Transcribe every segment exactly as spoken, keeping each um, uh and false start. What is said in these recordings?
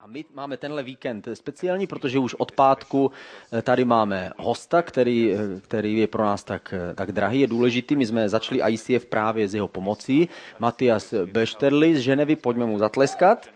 A my máme tenhle víkend speciální, protože už od pátku tady máme hosta, který, který je pro nás tak, tak drahý, je důležitý. My jsme začali I C F právě s jeho pomocí. Matias Bešterli z Ženevy, pojďme mu zatleskat.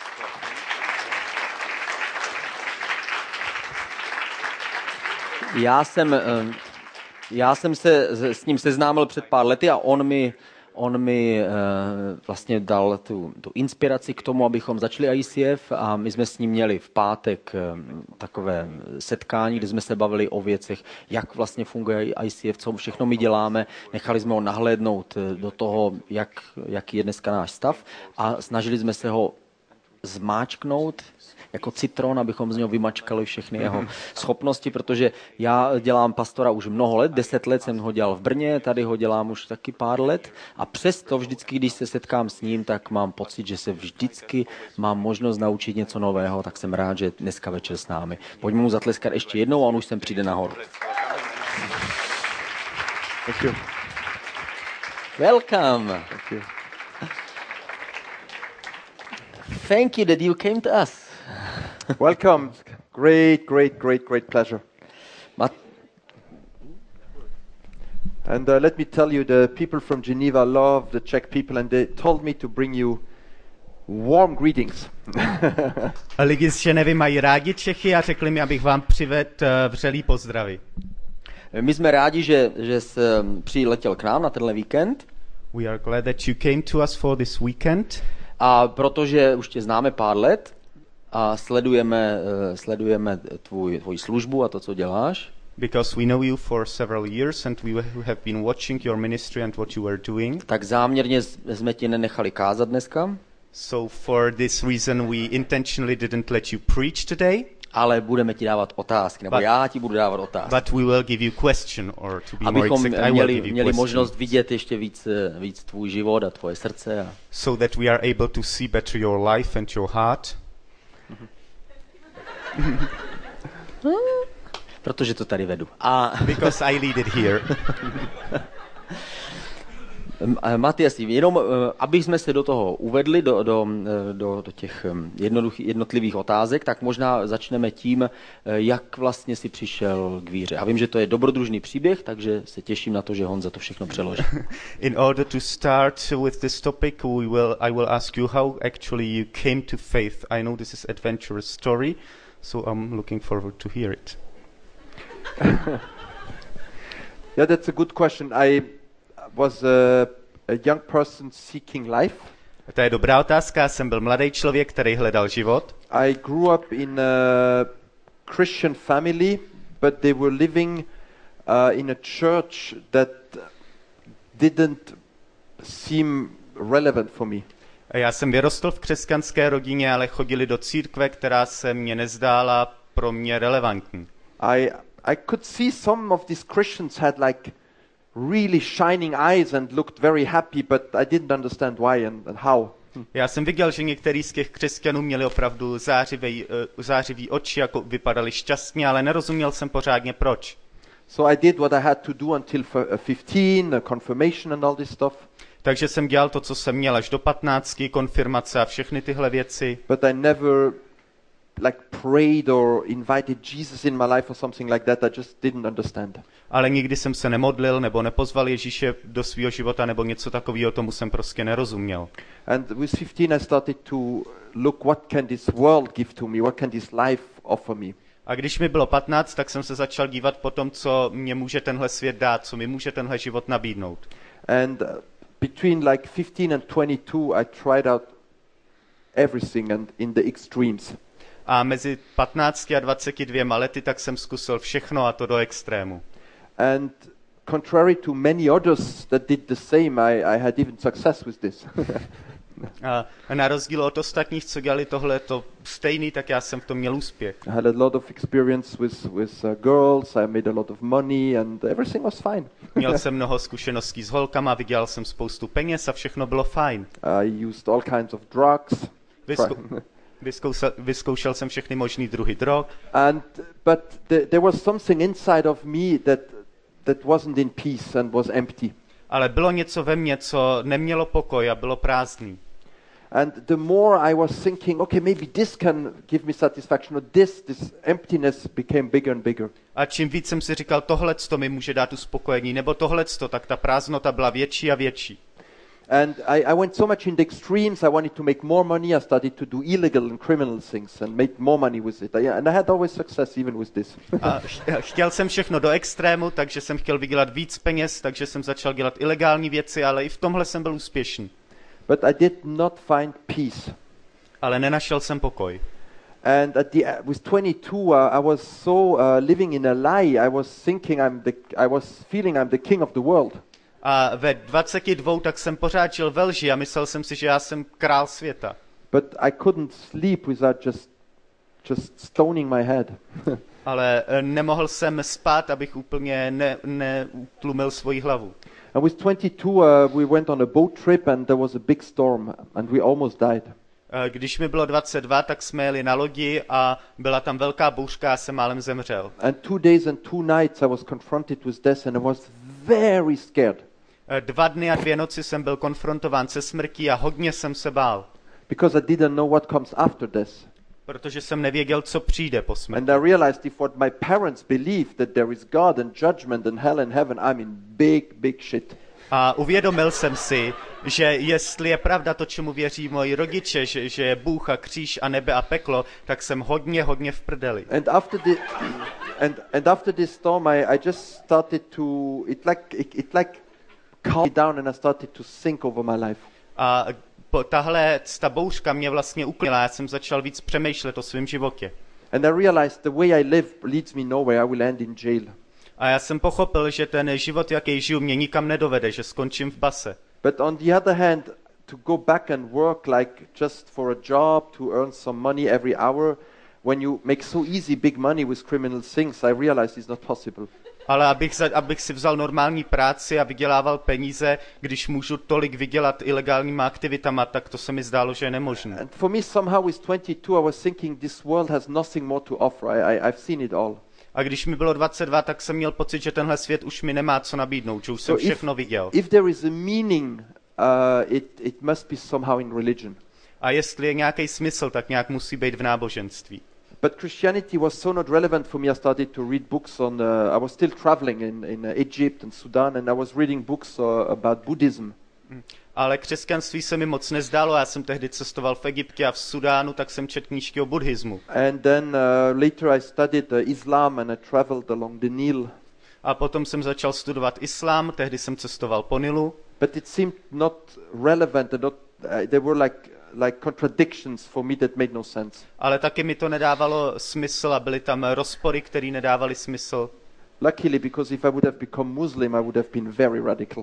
Já jsem, já jsem se s ním seznámil před pár lety a on mi On mi e, vlastně dal tu, tu inspiraci k tomu, abychom začali I C F a my jsme s ním měli v pátek e, takové setkání, kde jsme se bavili o věcech, jak vlastně funguje I C F, co všechno my děláme. Nechali jsme ho nahlédnout do toho, jak, jaký je dneska náš stav a snažili jsme se ho zmáčknout jako citron, abychom z něho vymačkali všechny jeho schopnosti, protože já dělám pastora už mnoho let, deset let jsem ho dělal v Brně, tady ho dělám už taky pár let a přesto vždycky, když se setkám s ním, tak mám pocit, že se vždycky mám možnost naučit něco nového, tak jsem rád, že dneska večer s námi. Pojďme mu zatleskat ještě jednou a on už sem přijde nahoru. Thank you. Welcome. Thank you. Thank you that you came to us. Welcome. Great, great, great, great pleasure. Mat- and uh, let me tell you, the people from Geneva love the Czech people, and they told me to bring you warm greetings. A lidi z Ženevy mají rádi Čechy a řekli mi, abych vám přivedl uh, vřelý pozdravy. My jsme rádi, že, že jsi přiletěl k nám na tenhle víkend. We are glad that you came to us for this weekend. A protože už tě známe pár let a sledujeme, sledujeme tvůj, tvoji službu a to, co děláš. Because we know you for several years and we have been watching your ministry and what you were doing. Tak záměrně jsme tě nenechali kázat dneska. So for this reason we intentionally didn't let you preach today. Ale budeme ti dávat otázky, nebo but, já ti budu dávat otázky. But we will give you question, or to be abychom more exact, měli, I will give you měli questions. možnost vidět ještě víc, víc tvůj život a tvoje srdce. A... So that we are able to see better your life and your heart. Protože to tady vedu. A... Because I lead it here. Matias, jenom aby jsme se do toho uvedli, do, do, do, do těch jednotlivých otázek, tak možná začneme tím, jak vlastně si přišel k víře. Já vím, že to je dobrodružný příběh, takže se těším na to, že Honza to všechno přeloží. In order to start with this topic, we will, I will ask you how actually you came to faith. I know this is an adventurous story, so I'm looking forward to hear it. Yeah, that's a good question. I was a, a young person seeking life. To je dobrá otázka. Já jsem byl mladý člověk, který hledal život. I grew up in a Christian family, but they were living uh, in a church that didn't seem relevant for me. Já jsem vyrostl v křesťanské rodině, ale chodili do církve, která se mně nezdála pro mě relevantní. I I could see some of these Christians had like really shining eyes and looked very happy, but I didn't understand why and, and how. Já jsem viděl, že některý z těch křesťanů měli opravdu zářivý, uh, zářivý oči, jako vypadali šťastně, ale nerozuměl jsem pořádně proč. So I did what I had to do until fifteen, a confirmation and all this stuff. Takže jsem dělal to, co jsem měl až do patnáctky, konfirmace a všechny tyhle věci. But I never like prayed or invited Jesus in my life or something like that. I just didn't understand. Ale nikdy jsem se nemodlil nebo nepozval Ježíše do svého života nebo něco takového, tomu jsem prostě nerozuměl. And with fifteen I started to look what can this world give to me, what can this life offer me. A když mi bylo patnáct, tak jsem se začal dívat po tom, co mě může tenhle svět dát, co mi může tenhle život nabídnout. And uh, between like fifteen and twenty-two I tried out everything and in the extremes. A mezi patnácti a dvaceti dvěma lety tak jsem zkusil všechno a to do extrému. And contrary to many others that did the same, I, I had even success with this. A na rozdíl od ostatních, co dělali tohle to stejný, tak já jsem v tom měl úspěch. I had a lot of experience with, with uh, girls, I made a lot of money and everything was fine. Měl jsem mnoho zkušeností s holkama, vydělal jsem spoustu peněz a všechno bylo fajn. I used all kinds of drugs. Vysku- vyzkoušel, vyzkoušel jsem všechny možný druhy drog. And but the, there was something inside of me that that wasn't in peace and was empty. Ale bylo něco ve mně, co nemělo pokoj a bylo prázdný. And the more I was thinking, okay, maybe this can give me satisfaction, or this, this emptiness became bigger and bigger. A čím víc jsem si říkal, tohleto mi může dát uspokojení, nebo tohleto, tak ta prázdnota byla větší a větší. And I, I went so much in the extremes. I wanted to make more money. I started to do illegal and criminal things and make more money with it. I, and I had always success even with this. A chtěl jsem všechno do extrému, takže jsem chtěl vydělat víc peněz, takže jsem začal dělat ilegální věci, ale i v tomhle jsem byl úspěšný. But I did not find peace. Ale nenašel jsem pokoj. And at the with twenty-two, uh, I was so uh, living in a lie. I was thinking I'm the. I was feeling I'm the king of the world. A ve dvaceti dvou tak jsem pořád žil ve lži a myslel jsem si, že já jsem král světa. But I couldn't sleep without just, just stoning my head. Ale nemohl jsem spát, abych úplně ne, neutlumil svoji hlavu. And with twenty-two, uh, we went on a boat trip and there was a big storm and we almost died. Když mi bylo dvacet dva, tak jsme jeli na lodi a byla tam velká bouřka a jsem málem zemřel. And two days and two nights I was confronted with death and I was very scared. Dva dny a dvě noci jsem byl konfrontován se smrtí a hodně jsem se bál. Because I didn't know what comes after death. Protože jsem nevěděl, co přijde po smrti. And I realized if what my parents believe that there is God and judgment and hell and heaven, I'm in big, big shit. A uvědomil jsem si, že jestli je pravda to, čemu věří moji rodiče, že, že je Bůh a kříž a nebe a peklo, tak jsem hodně, hodně v prdeli. And after the, and and after this storm, I, I just started to it like it, it like calmed me down and I started to think over my life. A po, tahle ta bouřka mě vlastně uklidnila, já jsem začal víc přemýšlet o svém životě. And I realized the way I live leads me nowhere. I will end in jail. A já jsem pochopil, že ten život, jaký žiju, mě nikam nedovede, že skončím v base. But on the other hand, to go back and work like just for a job to earn some money every hour, when you make so easy big money with criminal things, I realized it's not possible. Ale abych, za, abych si vzal normální práci a vydělával peníze, když můžu tolik vydělat ilegálníma aktivitama, tak to se mi zdálo, že je nemožné. And for me somehow with twenty-two I was thinking this world has nothing more to offer. I, I, I've seen it all. A když mi bylo dvacet dva, tak jsem měl pocit, že tenhle svět už mi nemá co nabídnout, že už jsem So if, všechno viděl. if there is a meaning, uh, it, it must be somehow in religion. A jestli je nějaký smysl, tak nějak musí být v náboženství. But Christianity was so not relevant for me. I started to read books on. Uh, I was still traveling in, in uh, Egypt and Sudan, and I was reading books uh, about Buddhism. Ale křesťanství se mi moc nezdálo, já jsem tehdy cestoval v Egyptě a v Sudánu, tak jsem četl knížky o buddhismu. And then uh, later I studied uh, Islam and I traveled along the Nile. A potom jsem začal studovat islám, tehdy jsem cestoval po Nilu. But it seemed not relevant and not. Uh, there were like like contradictions for me that made no sense. Ale taky mi to nedávalo smysl a byly tam rozpory, které nedávaly smysl. Luckily, because if I would have become Muslim, I would have been very radical.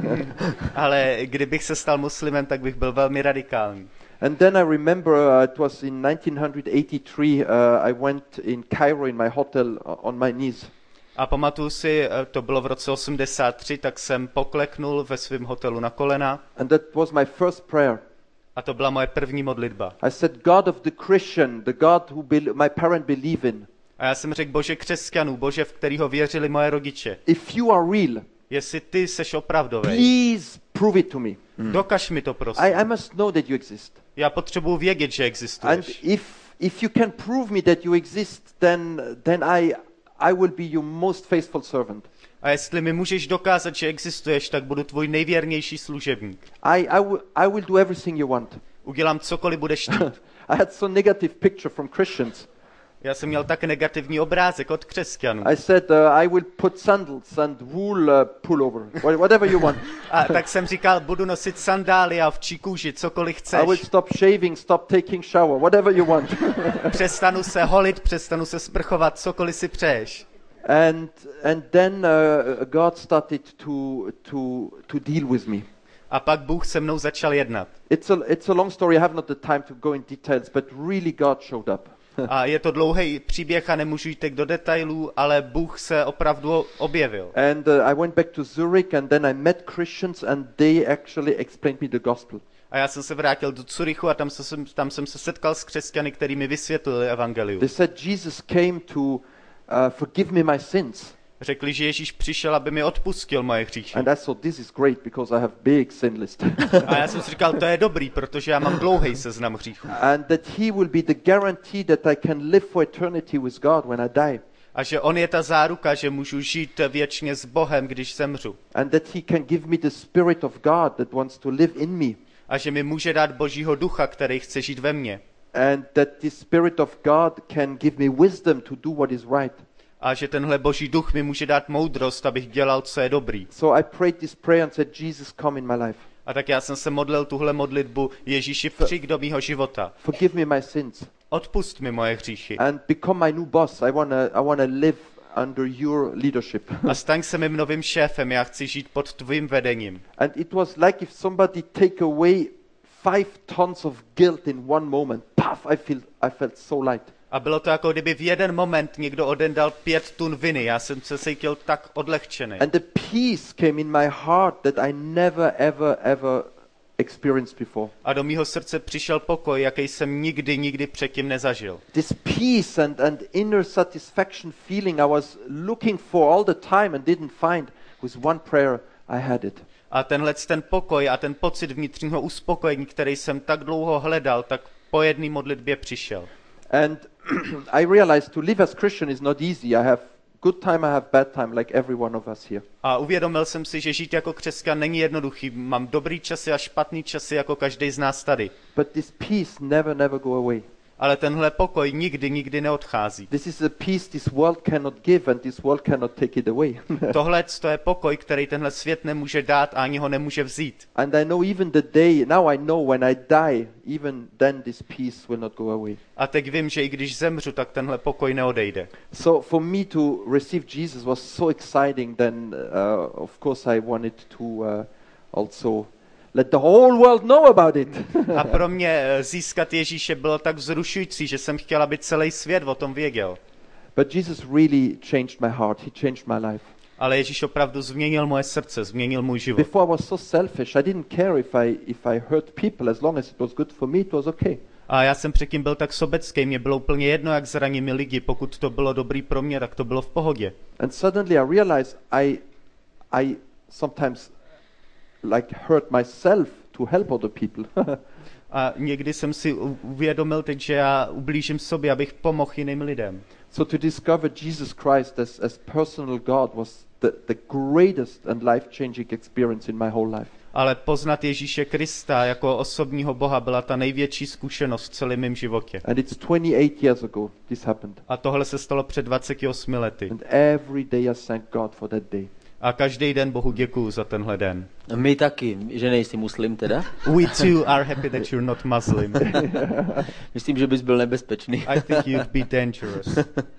Ale kdybych se stal muslimem, tak bych byl velmi radikální. And then I remember uh, it was in nineteen eighty-three. Uh, I went in Cairo in my hotel on my knees. A pamatuju si, to bylo v roce osmdesát tři, tak jsem pokleknul ve svém hotelu na kolena. And that was my first prayer. A to byla moje první modlitba. I said, God of the Christian, the God who be- my parents believe in. A já jsem řekl, Bože křesťanů, Bože, v kterého věřili moje rodiče. If you are real, jestli ty seš opravdový, please prove it to me. Hmm. Dokaž mi to, prosím. I, I must know that you exist. Já potřebuji vědět, že existuješ. And if if you can prove me that you exist, then then I I will be your most faithful servant. A jestli mi můžeš dokázat, že existuješ, tak budu tvůj nejvěrnější služebník. I I, w- I will do everything you want. Udělám cokoliv budeš chtít. I had so negative picture from Christians. Já jsem měl tak negativní obrázek od křesťanů. I said uh, I will put sandals and wool uh, pullover, whatever you want. A tak jsem říkal, budu nosit sandály a ovčí kůži, cokoliv chceš. I will stop shaving, stop taking shower, whatever you want. Přestanu se holit, přestanu se sprchovat, cokoliv si přeješ. And and then uh, God started to to to deal with me. A pak Bůh se mnou začal jednat. It's a it's a long story. I have not the time to go in details, but really God showed up. A je to dlouhý příběh a nemůžu jít do detailů, ale Bůh se opravdu objevil. And uh, I went back to Zurich and then I met Christians and they actually explained me the gospel. A já jsem se vrátil do Curychu a tam, se, tam jsem se setkal s křesťany, který mi vysvětlili evangelium. They said Jesus came to uh, forgive me my sins. Řekli, že Ježíš přišel, aby mi odpustil moje hříchy. And I thought, this is great because I have big sin list. A já jsem si říkal, to je dobrý, protože já mám dlouhý seznam hříchů. And that he will be the guarantee that I can live for eternity with God when I die. A že on je ta záruka, že můžu žít věčně s Bohem, když zemřu. And that he can give me the Spirit of God that wants to live in me. A že mi může dát Božího ducha, který chce žít ve mně. And that the Spirit of God can give me wisdom to do what is right. A že tenhle Boží duch mi může dát moudrost, abych dělal, co je dobrý. So I prayed this prayer and said, Jesus, come in my life. A tak já jsem se modlil tuhle modlitbu, Ježíši, přijď do mýho života. Forgive me my sins. Odpust mi moje hříchy. And become my new boss. I want to I wanna live under your leadership. A staň se mým novým šéfem, já chci žít pod tvým vedením. And it was like if somebody take away five tons of guilt in one moment. Puff, I feel I felt so light. A bylo to jako kdyby v jeden moment někdo odendal pět tun viny. Já jsem se cítil tak odlehčený. And the peace came in my heart that I never ever ever experienced before. A do mýho srdce přišel pokoj, jaký jsem nikdy, nikdy předtím nezažil. This peace and, and inner satisfaction feeling I was looking for all the time and didn't find, with one prayer I had it. A tenhle ten pokoj a ten pocit vnitřního uspokojení, který jsem tak dlouho hledal, tak po jedné modlitbě přišel. And I realized to live as Christian is not easy. I have good time, I have bad time, like every one of us here. A uvědomil jsem si, že žít jako křesťan není jednoduchý. Mám dobrý časy a špatný časy jako každý z nás tady. But this peace never, never go away. Ale tenhle pokoj nikdy, nikdy neodchází. This is a peace this world cannot give and this world cannot take it away. Tohle to je pokoj, který tenhle svět nemůže dát a ani ho nemůže vzít. And I know even the day, now I know when I die, even then this peace will not go away. A teď vím, že i když zemřu, tak tenhle pokoj neodejde. So for me to receive Jesus was so exciting, then uh, of course I wanted to uh, also let the whole world know about it. A pro mě získat Ježíše bylo tak vzrušující, že jsem chtěl, aby celý svět o tom věděl. But Jesus really changed my heart. He changed my life. Ale Ježíš opravdu změnil moje srdce, změnil můj život. Before I was so selfish. I didn't care if I if I hurt people, as long as it was good for me, it was okay. A já jsem předtím byl tak sobecký, mě bylo úplně jedno, jak zranili lidi, pokud to bylo dobrý pro mě, tak to bylo v pohodě. And suddenly I realized I I sometimes like hurt myself to help other people. A někdy jsem si uvědomil teď, že já ublížím sobě, abych pomohl jiným lidem. So to discover Jesus Christ as, as personal God was the, the greatest and life-changing experience in my whole life. Ale poznat Ježíše Krista jako osobního Boha byla ta největší zkušenost v celém mém životě. And it's twenty-eight years ago this happened. A tohle se stalo před dvaceti osmi lety. And every day I thank God for that day. A každý den Bohu děkuju za tenhle den. My taky, že nejsi muslim teda. We too are happy that you're not Muslim. Myslím, že bys byl nebezpečný. I think you'd be dangerous.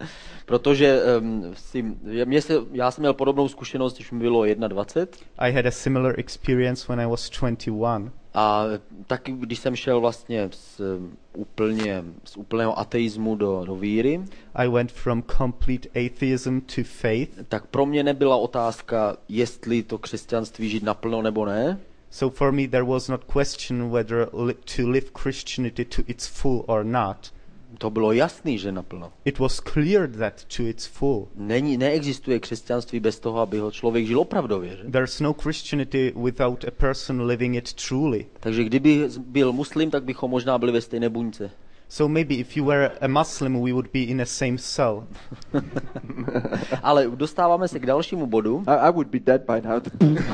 Protože um, si, mě se, já jsem měl podobnou zkušenost, když mi bylo dvacet jedna. I had a similar experience when I was twenty-one. A taky, když jsem šel vlastně z, úplně, z úplného ateismu do, do víry, I went from complete atheism to faith. Tak pro mě nebyla otázka, jestli to křesťanství žít naplno nebo ne. So for me there was not question whether li- to live Christianity to its full or not. To bylo jasný, že naplno. It was clear that to its full. Není, neexistuje křesťanství bez toho, aby ho člověk žil opravdově. Že? There's no Christianity without a person living it truly. Takže kdyby byl muslim, tak bychom možná byli ve stejné buňce. So maybe if you were a Muslim, we would be in the same cell. Ale dostáváme se k dalšímu bodu. I, I would be dead by now.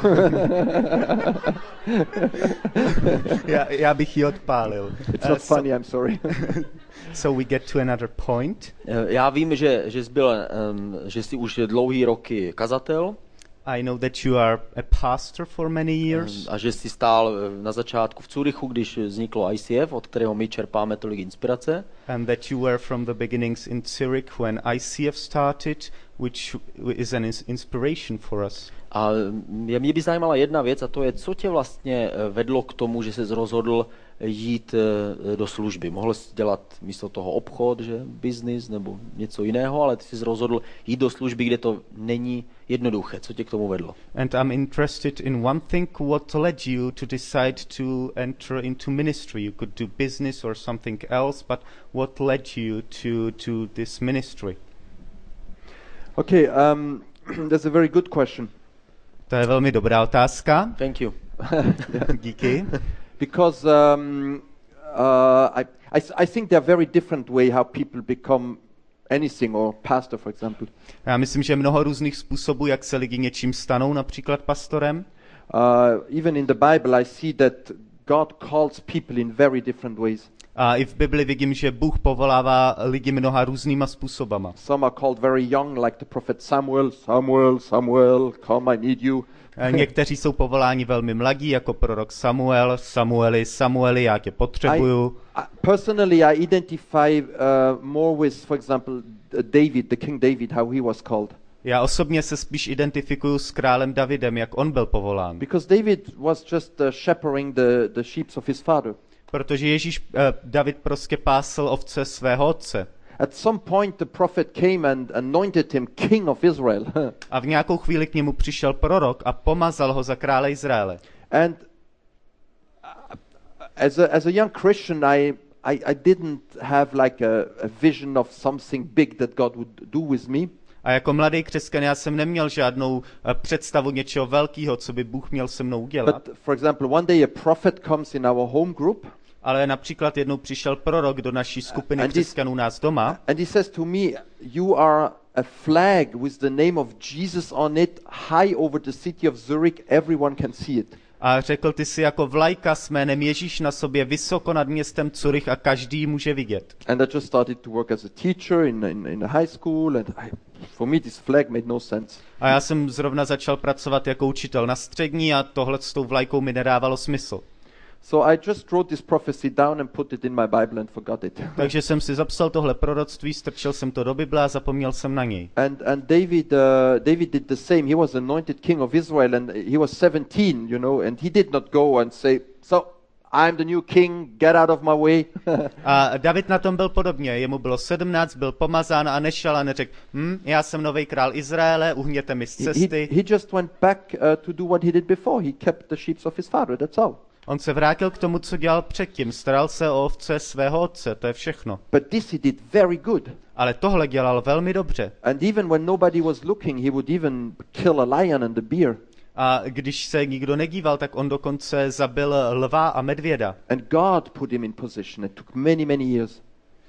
já, já bych ji odpálil. It's not Uh, so- funny, I'm sorry. So we get to another point. Já vím, že, že, jsi byl, um, že jsi už dlouhý roky kazatel. I know that you are a pastor for many years. A že jsi stál na začátku v Curychu, když vzniklo I C F, od kterého my čerpáme tolik inspirace. And that you were from the beginnings in Zurich when I C F started, which is an ins- inspiration for us. A mě by zajímala jedna věc, a to je, co tě vlastně vedlo k tomu, že jsi rozhodl jít do služby. Mohl jsi dělat místo toho obchod, že business nebo něco jiného, ale ty jsi rozhodl jít do služby, kde to není jednoduché. Co tě k tomu vedlo? And I'm interested in one thing, what led you to decide to enter into ministry? You could do business or something else, but what led you to, to this ministry? Okay, um, That's a very good question. To je velmi dobrá otázka. Thank you. Díky. Because um, uh, I, I, I think there are very different way how people become anything, or pastor, for example. Já myslím, že je mnoho různých způsobů, jak se lidi něčím stanou, například pastorem. Uh, even in the Bible I see that God calls people in very different ways. A i v Bibli vidím, že Bůh povolává lidi mnoha různýma způsobama. Some are called very young, like the prophet Samuel. Samuel, Samuel, come, I need you. Někteří jsou povoláni velmi mladí, jako prorok Samuel. Samueli, Samueli, já tě potřebuju. I, I, personally, I identify uh, more with, for example, David, the King David, how he was called. Já osobně se spíš identifikuju s králem Davidem, jak on byl povolán. Because David was just uh, shepherding the, the sheep of his father. Protože Ježíš, uh, David prostě pásl ovce svého otce. At some point the prophet came and anointed him king of Israel. A v nějakou chvíli k němu přišel prorok a pomazal ho za krále Izraele. And as a, as a young Christian, I, I, I didn't have like a, a vision of something big that God would do with me. A jako mladý křesťan já jsem neměl žádnou uh, představu něčeho velkého, co by Bůh měl se mnou udělat. But for example, one day a prophet comes in our home group. Ale například jednou přišel prorok do naší skupiny And křesťanů nás doma And he says to me, you are a flag with the name of Jesus on it, high over the city of Zurich, everyone can see it. a řekl, ty jsi jako vlajka s jménem Ježíš na sobě vysoko nad městem Curych a každý ji může vidět. And I just started to work as a teacher in, in, in a high school, and I, for me this flag made no sense. A já jsem zrovna začal pracovat jako učitel na střední a tohle s tou vlajkou mi nedávalo smysl. So I just wrote this prophecy down and put it in my Bible and forgot it. Takže jsem si zapsal tohle proroctví, strčil jsem to do Bible a zapomněl jsem na něj. And and David uh, David did the same. He was anointed king of Israel, and he was seventeen, you know, and he did not go and say, so I'm the new king, get out of my way. A David na tom byl podobně. Jemu bylo sedmnáct, byl pomazán a nešel a neřekl, hm, já jsem nový král Izraele, uhněte mi z cesty. He, he just went back uh, to do what he did before. He kept the sheep of his father, that's all. On se vrátil k tomu, co dělal předtím. Staral se o ovce svého otce, to je všechno. But this he did very good. Ale tohle dělal velmi dobře. And even when nobody was looking, he would even kill a lion and a bear. A když se nikdo nedíval, tak on dokonce zabil lva a medvěda. And God put him in position. It took many, many years.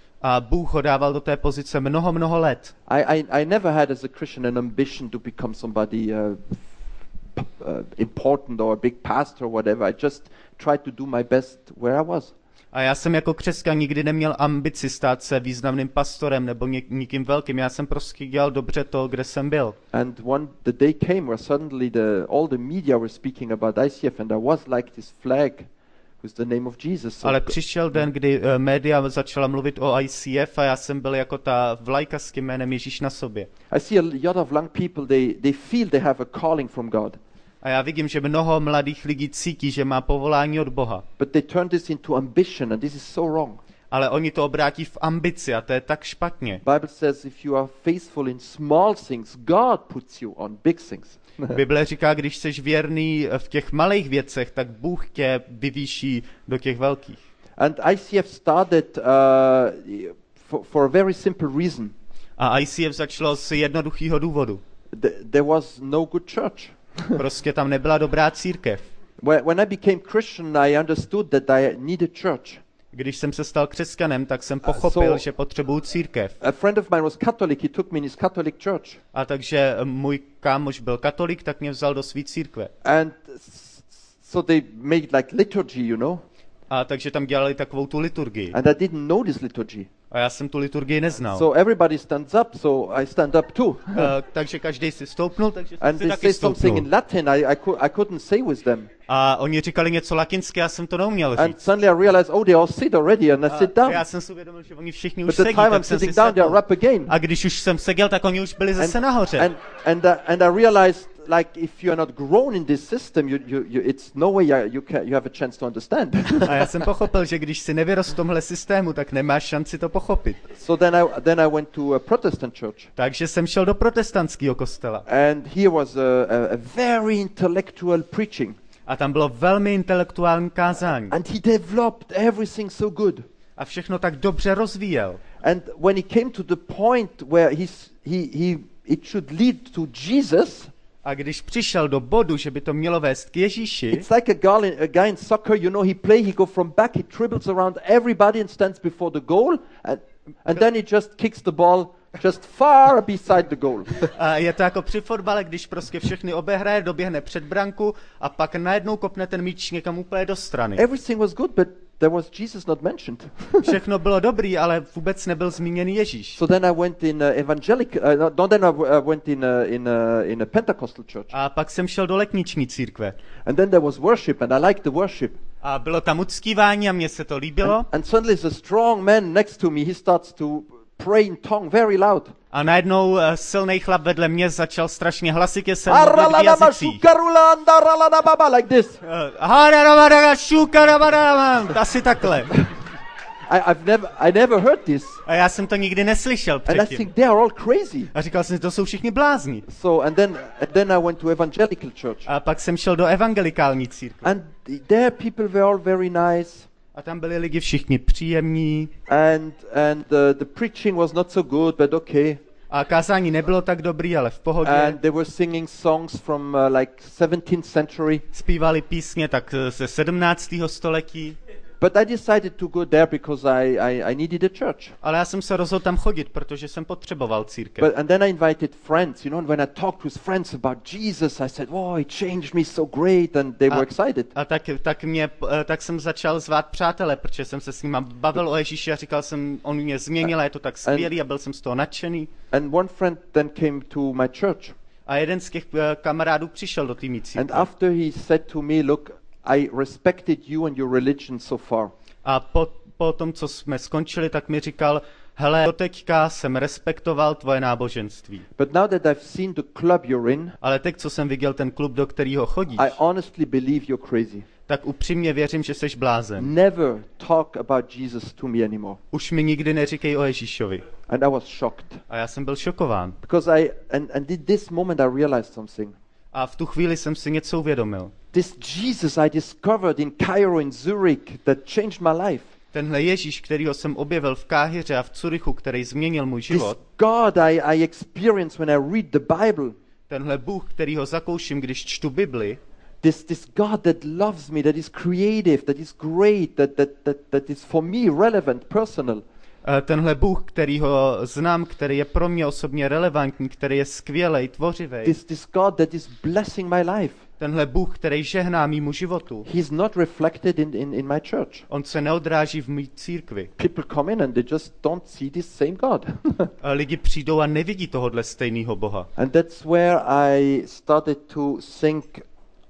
A Bůh ho dával do té pozice mnoho, mnoho let. I, I, I never had as a Christian an ambition to become somebody uh, p- uh, important or a big pastor or whatever. I just tried to do my best where I was. A já jsem jako křesťan nikdy neměl ambici stát se významným pastorem nebo něk- nikým velkým. Já jsem prostě dělal dobře to, kde jsem byl. And one the day came where suddenly the all the media were speaking about I C F, and I was like this flag with the name of Jesus. So Ale přišel den, kdy uh, média začala mluvit o I C F a já jsem byl jako ta vlajka s tím jménem Ježíš na sobě. I see a lot of young people, they, they feel they have a calling from God. A já vidím, že mnoho mladých lidí cítí, že má povolání od Boha. But they turn this into ambition, and this is so wrong. Ale oni to obrátí v ambici a to je tak špatně. Bible says if you are faithful in small things, God puts you on big things. Bible říká, když jsi věrný v těch malých věcech, tak Bůh tě vyvýší do těch velkých. And I C F started uh, for, for a very simple reason. A I C F začalo z jednoduchého důvodu. Th- there was no good church. Prostě tam nebyla dobrá církev. When when I became Christian, I understood that I needed church. Když jsem se stal křesťanem, tak jsem pochopil, so- že potřebuju církev. A friend of mine was Catholic. He took me in his Catholic church. A takže můj kámoš byl katolik, tak mě vzal do svý církve. And s- so they made like liturgy, you know. A takže tam dělali takovou tu liturgii. And I didn't know this liturgy. A já jsem tu liturgii neznal. So everybody stands up, so I stand up too. Uh, takže každý si stoupnul, takže jsem And si they taky say something stoupnul. in Latin I, I, cou- I couldn't say with them. A oni říkali něco latinské, já jsem to neuměl And říct. suddenly I realized, oh, they all sit already, and I sit A down. já jsem si uvědomil, že oni všichni But už the sedí, time I'm tak jsem si sitting down, they sedl. are up again. A když už jsem seděl, tak oni už byli zase And, nahoře. and, and, uh, and I realized, like, if you are not grown in this system, you, you, you, it's no way you, you, can, you have a chance to understand. A já jsem pochopil, že když si nevyrost v tomhle systému, tak nemáš šanci to pochopit. So then I, then I went to a Protestant church. Takže jsem šel do protestantského kostela. And here was a, a, a very intellectual preaching. A tam bylo velmi intelektuální kázání. And he developed everything so good. A všechno tak dobře rozvíjel. And when he came to the point where he's, he, he, it should lead to Jesus, A když přišel do bodu, že by to mělo vést k Ježíši, it's like a guy, in, a guy in soccer, you know, he play, he go from back, he dribbles around everybody and stands before the goal, and, and then he just kicks the ball just far beside the goal. a je to jako při fotbale, když prostě všechny obehraje, doběhne před branku a pak najednou kopne ten míč někam úplně do strany. Everything was good, but there was Jesus not mentioned. Všechno bylo dobrý, ale vůbec nebyl zmíněný Ježíš. So then I went in uh, evangelic, uh, no, no, then I w- uh, went in uh, in uh, in a Pentecostal church, A pak jsem šel do letniční církve. and then there was worship, and I liked the worship. A bylo tam uctívání a mně se to líbilo. And, and suddenly there's a strong man next to me. He starts to pray in tongue very loud. A najednou uh, silný chlap vedle mě začal strašně hlasitě se modlit v jazycích. Like this. Uh, asi takhle. I, I've never, I never heard this, A já jsem to nikdy neslyšel and I předtím. think they are all crazy. A říkal jsem si, to jsou všichni blázni. So and then and then I went to evangelical church, A pak jsem šel do evangelikální církve. and there people were all very nice, A tam byli lidi všichni příjemní. and and uh, the preaching was not so good, but okay. A kázání nebylo tak dobrý, ale v pohodě. And they were singing songs from uh, like seventeenth century. Zpívali písně tak eh, ze sedmnáctého století. But I decided to go there because I, I, I needed a church. Ale já jsem se rozhodl tam chodit, protože jsem potřeboval církev. But and then I invited friends, you know, and when I talked with friends about Jesus, I said, "Oh, he changed me so great," and they were excited. A tak, tak, mě, eh, tak jsem začal zvát přátele, protože jsem se s nimi bavil o Ježíši a říkal jsem, on mě změnil a je to tak skvělý a byl jsem z toho nadšený. And one friend then came to my church, A jeden z těch eh, kamarádů přišel do té mý and církve. after he said to me, "Look, I respected you and your religion so far, A po, po tom, co jsme skončili, tak mi říkal, hele, doteďka jsem respektoval tvoje náboženství. but now that I've seen the club you're in, Ale teď, co jsem viděl ten klub, do kterého chodíš, I honestly believe you're crazy. tak upřímně věřím, že jsi blázen. Never talk about Jesus to me anymore." Už mi nikdy neříkej o Ježíšovi. And I was shocked A já jsem byl šokován. because I and and in this moment I realized something. A v tu chvíli jsem si něco uvědomil. This Jesus I discovered in Cairo, in Zurich, that changed my life. Tenhle Ježíš, kterýho jsem objevil v Káhiře a v Curychu, který změnil můj This život, God I, I experience when I read the Bible. tenhle Bůh, kterýho zakouším, když čtu Bibli, This, this God that loves me, that is creative, that is great, that, that, that, that is for me relevant, personal. eh, tenhle Bůh, kterýho znám, který je pro mě osobně relevantní, který je skvělej, tvořivej, This, this God that is blessing my life. tenhle Bůh, který žehná mýmu životu, He's not reflected in, in, in my church. on se neodráží v mý církvi. People come in and they just don't see this same God. A lidi přijdou a nevidí tohodle stejného Boha. And that's where I started to think,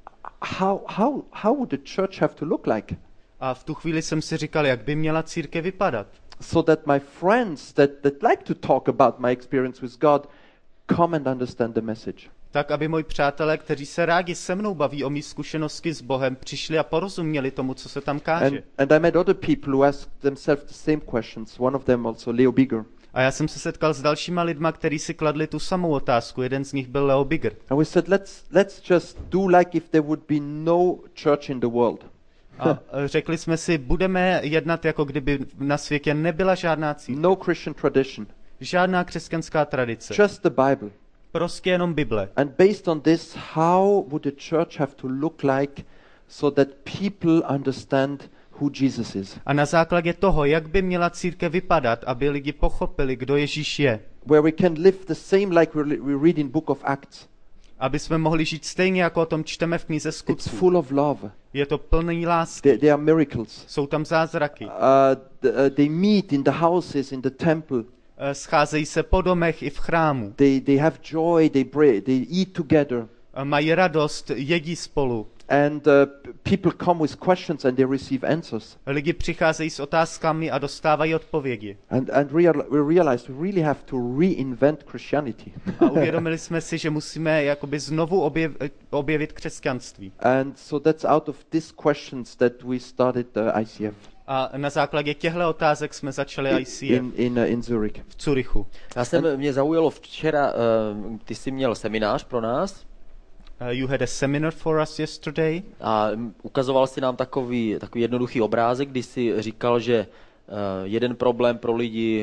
how, how, how would the church have to look like? A v tu chvíli jsem si říkal, jak by měla církev vypadat. So that my friends that, that like to talk about my experience with God come and understand the message. Tak, aby moji přátelé, kteří se rádi se mnou baví o mý zkušenosti s Bohem, přišli a porozuměli tomu, co se tam káže. And, and I met other people who asked themselves the same questions. One of them also, Leo Bigger. A já jsem se setkal s dalšíma lidma, kteří si kladli tu samou otázku. Jeden z nich byl Leo Bigger. And we said, let's, let's just do like if there would be no church in the world. A řekli jsme si, budeme jednat, jako kdyby na světě nebyla žádná církev, No Christian tradition. žádná křesťanská tradice, Just the Bible. prostě jenom Bible. And based on this, how would the church have to look like so that people understand who Jesus is? A na základě toho, jak by měla církev vypadat, aby lidi pochopili, kdo Ježíš je, Where we can live the same like we we read in Book of Acts. aby jsme mohli žít stejně, jako o tom čteme v knize It's Skutků. full of love. Je to plný lásky, There, there are miracles. jsou tam zázraky, Uh, th- uh, they meet in the houses, in the temple. Eh, scházejí se po domech i v chrámu, They, they have joy, they, pray, they eat together. Eh, mají radost, jedí spolu. And uh, p- people come with questions and they receive answers. Lidi přicházejí s otázkami a dostávají odpovědi. And, and real, we realized we really have to reinvent Christianity. A uvědomili jsme si, že musíme jakoby znovu objev, objevit křesťanství. And so that's out of these questions that we started uh, I C F A na základě těchto otázek jsme začali I C F in, in, uh, in Zurich. v Curychu. Já jsem, mě zaujalo včera, uh, ty jsi měl seminář pro nás Uh, you had a seminar for us yesterday. a mm, ukazoval si nám takový, takový jednoduchý obrázek, kdy jsi říkal, že uh, jeden problém pro lidi v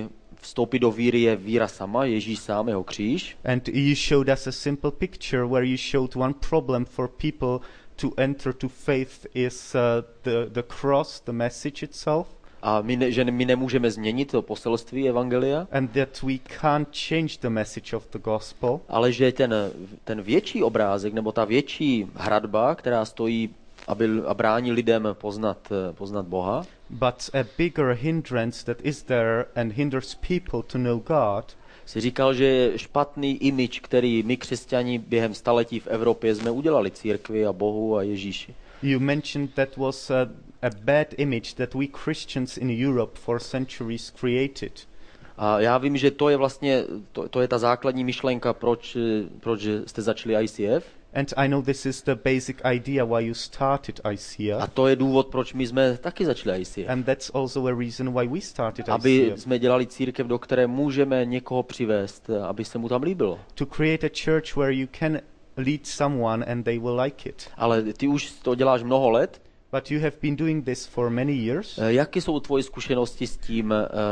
vstoupit do víry je víra sama, Ježíš sám, jeho kříž. And you showed us a simple picture where you showed one problem for people to enter to faith is uh, the, the cross, the message itself. A my, ne, že my nemůžeme změnit to poselství evangelia. And that we can't change the message of the gospel. Ale že ten, ten větší obrázek, nebo ta větší hradba, která stojí aby, a brání lidem poznat, poznat Boha. But a bigger hindrance that is there and hinders people to know God. Si říkal, že je špatný image, který my křesťani během staletí v Evropě jsme udělali církvi a Bohu a Ježíši. You mentioned that was a, a bad image that we Christians in Europe for centuries created. A já vím, že to je vlastně, to, to je ta základní myšlenka, proč, proč jste začali I C F. And I know this is the basic idea why you started I C F. A to je důvod, proč my jsme taky začali I C F. And that's also a reason why we started Aby I C F. jsme dělali církev, do které můžeme někoho přivést, aby se mu tam líbilo. To create a church where you can lead someone and they will like it. Ale ty už to děláš mnoho let. But you have been doing this for many years. Jaké jsou tvoje zkušenosti s tím,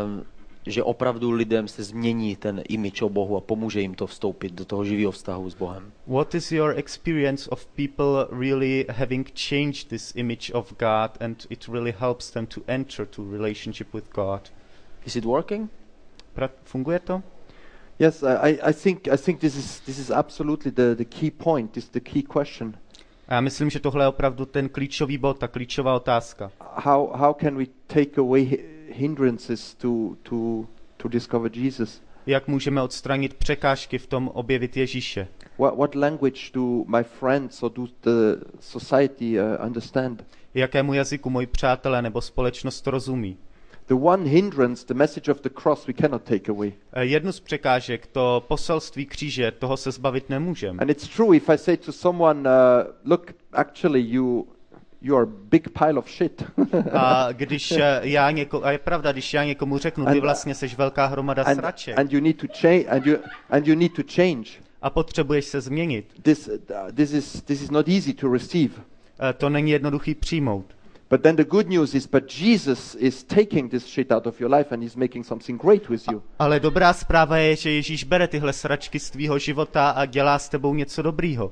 že opravdu lidem se změní ten image o Bohu a pomůže jim to vstoupit do toho živého vztahu s Bohem? What is your experience of people really having changed this image of God and it really helps them to enter to relationship with God? Is it working? Pra- funguje to? Yes, I, I think I think this is this is absolutely the, the key point. This is the key question. A já myslím, že tohle je opravdu ten klíčový bod, ta klíčová otázka. How how can we take away hindrances to to to discover Jesus? Jak můžeme odstranit překážky v tom objevit Ježíše? What what language do my friends or do the society uh, understand? Jakému jazyku moji přátelé nebo společnost rozumí? The one hindrance, the message of the cross, we cannot take away. Jednu z překážek, to poselství kříže, toho se zbavit nemůžeme. And it's true if I say to someone, uh, look, actually you you are a big pile of shit. A když já něko, a je pravda, když já někomu řeknu, ty vlastně seš velká hromada and, sraček. and you need to change and you and you need to change. A potřebuješ se změnit. This uh, this is this is not easy to receive. To není jednoduchý přijmout. But then the good news is, but Jesus is taking this shit out of your life and he's making something great with you. Ale dobrá zpráva je, že Ježíš bere tyhle sračky z tvýho života a dělá s tebou něco dobrýho.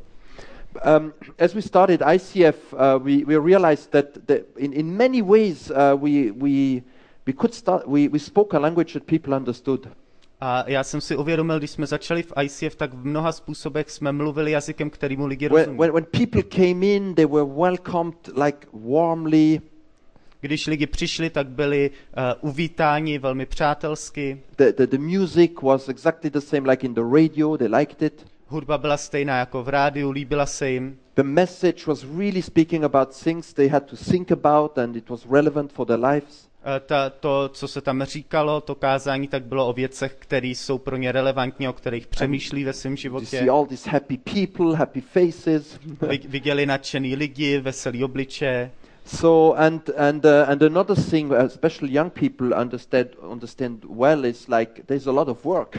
Um, as we started I C F, uh, we we realized that the, in in many ways uh, we we we could start we we spoke a language that people understood. A já jsem si uvědomil, když jsme začali v I C F, tak v mnoha způsobech jsme mluvili jazykem, kterýmu lidi When, rozumí. when, when people came in, they were welcomed like warmly. Když lidi přišli, tak byli uh, uvítáni velmi přátelsky. The, the, the music was exactly the same like in the radio, they liked it. Hudba byla stejná jako v rádiu, líbila se jim. The message was really speaking about things they had to think about and it was relevant for their lives. Ta, to, co se tam říkalo, to kázání, tak bylo o věcech, které jsou pro ně relevantní, o kterých přemýšlí ve svém You životě. see all these happy people, happy faces. Vy, viděli nadšený lidi, veselý obličeje. So and and uh, and another thing, especially young people understand understand well, is like there's a lot of work.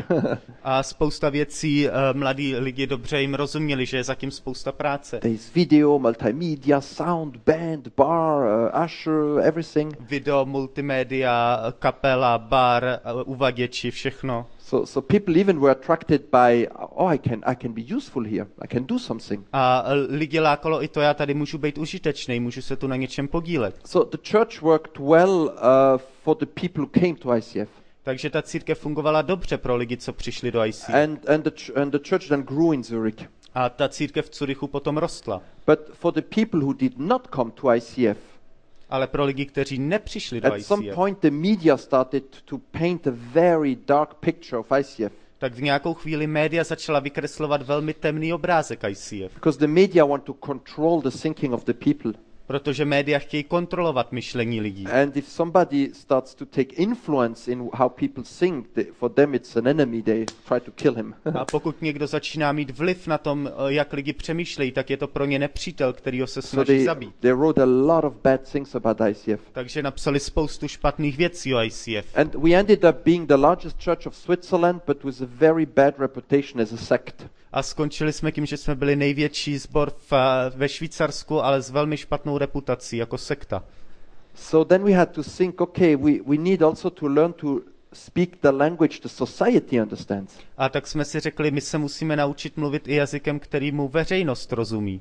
A spousta věcí uh, mladí lidi dobře jim rozuměli, že je zatím spousta práce. There's video, multimedia, sound, band, bar, uh, usher, everything. Video, multimédia, kapela, bar, uh, uvaděči, všechno. So so people even were attracted by, oh, I can I can be useful here. I can do something. A lidi lákalo i to, já tady můžu být užitečný, můžu se tu na něčem podílet. So the church worked well uh, for the people who came to I C F. Takže ta církev fungovala dobře pro lidi, co přišli do I C F. And and the ch- and the church then grew in Zurich. A ta církev v Curychu potom rostla. But for the people who did not come to I C F, Ale pro lidi, kteří nepřišli do at I some C F, point the media started to paint a very dark picture of I C F. tak v nějakou chvíli média začala vykreslovat velmi temný obrázek I C F. Because the media want to control the thinking of the people. Protože média chtějí kontrolovat myšlení lidí. And if somebody starts to take influence in how people think, they, for them it's an enemy, they try to kill him. A pokud někdo začíná mít vliv na tom, jak lidi přemýšlejí, tak je to pro ně nepřítel, kterýho se So snaží they, zabít. they wrote a lot of bad things about I C F. Takže napsali spoustu špatných věcí o I C F. And we ended up being the largest church of Switzerland, but with a very bad reputation as a sect. A skončili jsme tím, že jsme byli největší sbor v, ve Švýcarsku, ale s velmi špatnou reputací jako sekta. So then we had to think, okay, we, we need also to learn to speak the language the society understands. A tak jsme si řekli, my se musíme naučit mluvit i jazykem, kterýmu veřejnost rozumí.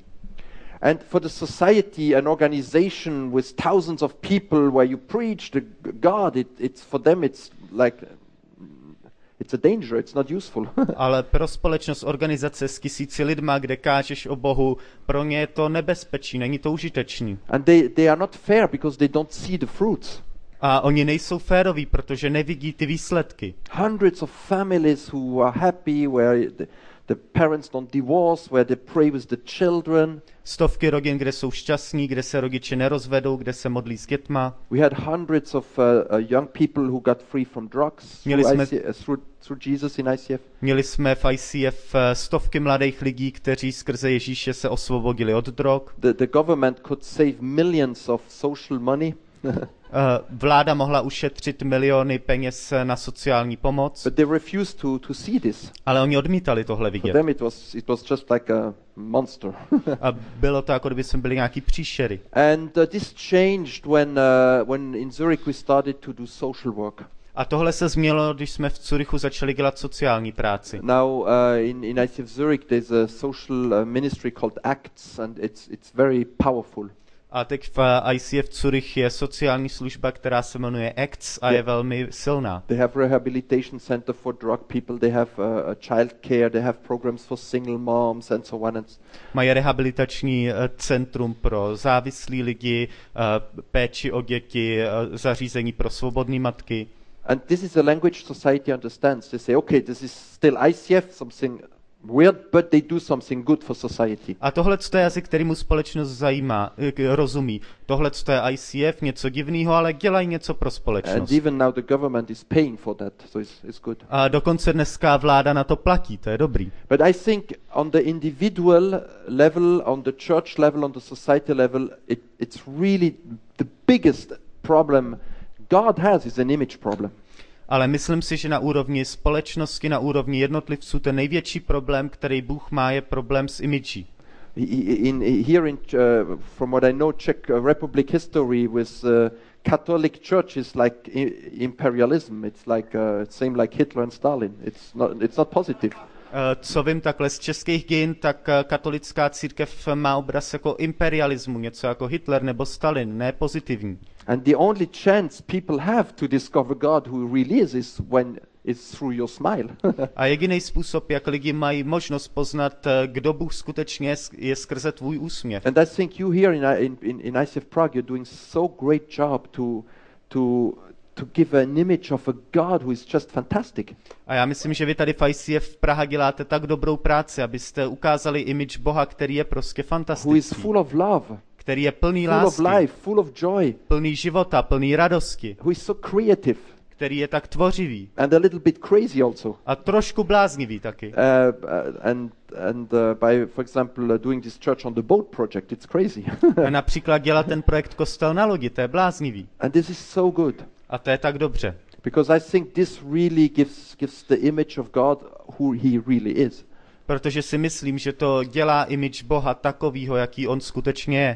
And for the society, an organization with thousands of people where you preach the God, it, it's for them it's like it's a danger, it's not useful. Ale pro společnost, organizace s tisíci lidma, kde kážeš o Bohu, pro ně je to nebezpečí, není to užitečný. And they, they are not fair because they don't see the fruits. A oni nejsou féroví, protože nevidí ty výsledky. Hundreds of families who are happy, where the, the parents don't divorce, where they pray with the children. Stovky rodin, kde jsou šťastní, kde se rodiče nerozvedou, kde se modlí s dětma. We had hundreds of uh, uh, young people who got free from drugs Měli through, jsme- I C F, through, through Jesus in I C F. Měli jsme v I C F eh, stovky mladých lidí, kteří skrze Ježíše se osvobodili od drog. The, the government could save millions of social money, Eh, Vláda mohla ušetřit miliony peněz na sociální pomoc, but they refused to, to see this. ale oni odmítali tohle For vidět. them it was, it was just like a monster. A bylo to, jako kdyby jsme byli nějaký příšery. And uh, this changed when, uh, when in Zurich we started to do social work. A tohle se změnilo, když jsme v Curychu začali dělat sociální práci. Now uh, in, in I C F Zurich there's a social uh, ministry called ACTS, and it's, it's very powerful. A teď v I C F Curych je sociální služba, která se jmenuje A C T S a je velmi silná. They have rehabilitation center for drug people, they have uh, a child care, they have programs for single moms and so on. And s- Mají rehabilitační eh, centrum pro závislí lidi, eh, péči o děti, eh, zařízení pro svobodné matky. And this is a language society understands. They say, okay, this is still I C F, something weird, but they do something good for society. A tohle je jazyk, kterýmu společnost zajímá, eh, k- rozumí. Tohle je I C F, něco divného, ale dělají něco pro And společnost. even now the government is paying for that, so it's, it's good. A dokonce dneska vláda na to platí, to je dobrý. But I think on the individual level, on the church level, on the society level, it, it's really the biggest problem God has is an image problem. Ale myslím si, že na úrovni společnosti, na úrovni jednotlivců, ten největší problém, který Bůh má, je problém s imidží. In, in, here in, uh, from what I know, Czech uh, Republic history with uh, Catholic Church is like I- imperialism. It's like uh, same like Hitler and Stalin. It's not, it's not positive. Eh, Co vím takhle z českých dějin, tak eh, katolická církev má obraz jako imperialismu, něco jako Hitler nebo Stalin, ne pozitivní. And the only chance people have to discover God who really is is when it's through your smile. A jediný způsob, jak lidi mají možnost poznat, eh, kdo Bůh skutečně je, je skrze tvůj úsměv. And I think you here in, I- in, in, in I C F Prague, you're doing so great job to, to, to give an image of a God who is just fantastic. A já myslím, že vy tady v I C F Praha děláte tak dobrou práci, abyste ukázali image Boha, který je prostě Who is fantastický, full of love, který je plný full of lásky, life, full of joy, plný života, plný radosti, who is so creative který je tak tvořivý and a little bit crazy also. a trošku bláznivý taky. Uh, uh, and and uh, by, for example, uh, doing this church on the boat project, it's crazy. A například dělat ten projekt Kostel na lodi, to je bláznivý. And this is so good A to je tak dobře. because I think this really gives gives the image of God who He really is. Protože si myslím, že to dělá image Boha takovýho, jaký on skutečně je.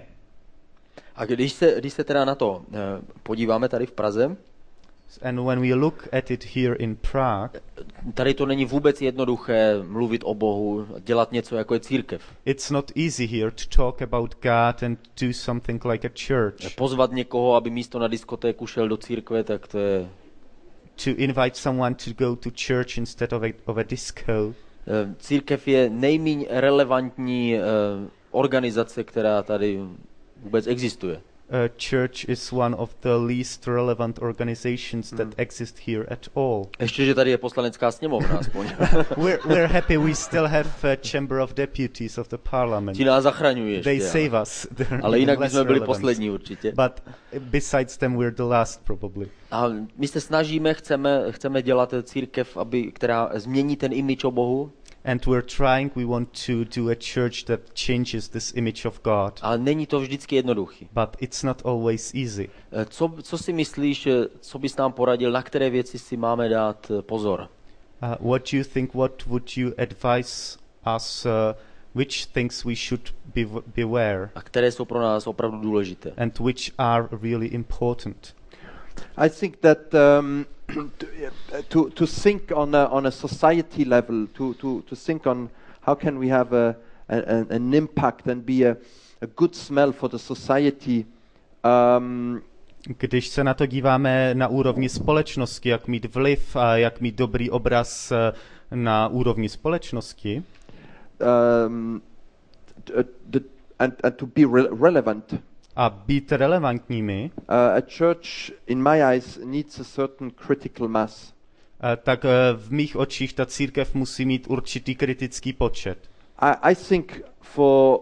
A když se, když se teda na to eh, podíváme tady v Praze, And when we look at it here in Prague, tady to není vůbec jednoduché mluvit o Bohu, dělat něco jako je církev. it's not easy here to talk about God and do something like a church. Pozvat někoho, aby místo na diskotéku šel do církve, tak to je... To invite someone to go to church instead of a, of a disco. eh, Církev je nejméně relevantní eh, organizace, která tady vůbec existuje. A church is one of the least relevant organizations that exist here at all. Ještě, že tady je poslanecká sněmovna aspoň. We're, we're happy we still have a Chamber of Deputies of the Parliament. Ti nás zachraňují ještě. They ale- save us. They're Ale jinak less bychom byli relevant. poslední určitě. But besides them, we're the last probably. A my se snažíme, chceme, chceme dělat církev, aby, která změní ten image o Bohu, And we're trying, we want to do a church that changes this image of God. ale není to vždycky jednoduchý. But it's not always easy. Eh, Co, co si myslíš, eh, co bys nám poradil, na které věci si máme dát eh, pozor? Uh, what do you think, what would you advise us, uh, which things we should be beware A které jsou pro nás opravdu důležité? and which are really important? I think that um, to to think on a on a society level, to to to think on how can we have a, a an impact and be a, a good smell for the society. Um, Když se na to díváme na úrovni společnosti, jak mít vliv a jak mít dobrý obraz na úrovni společnosti, um, the, and, and to be re- relevant. A být relevantními, uh, a church, in my eyes, needs a certain critical mass. tak v mých očích ta církev musí mít určitý kritický počet. I, I think for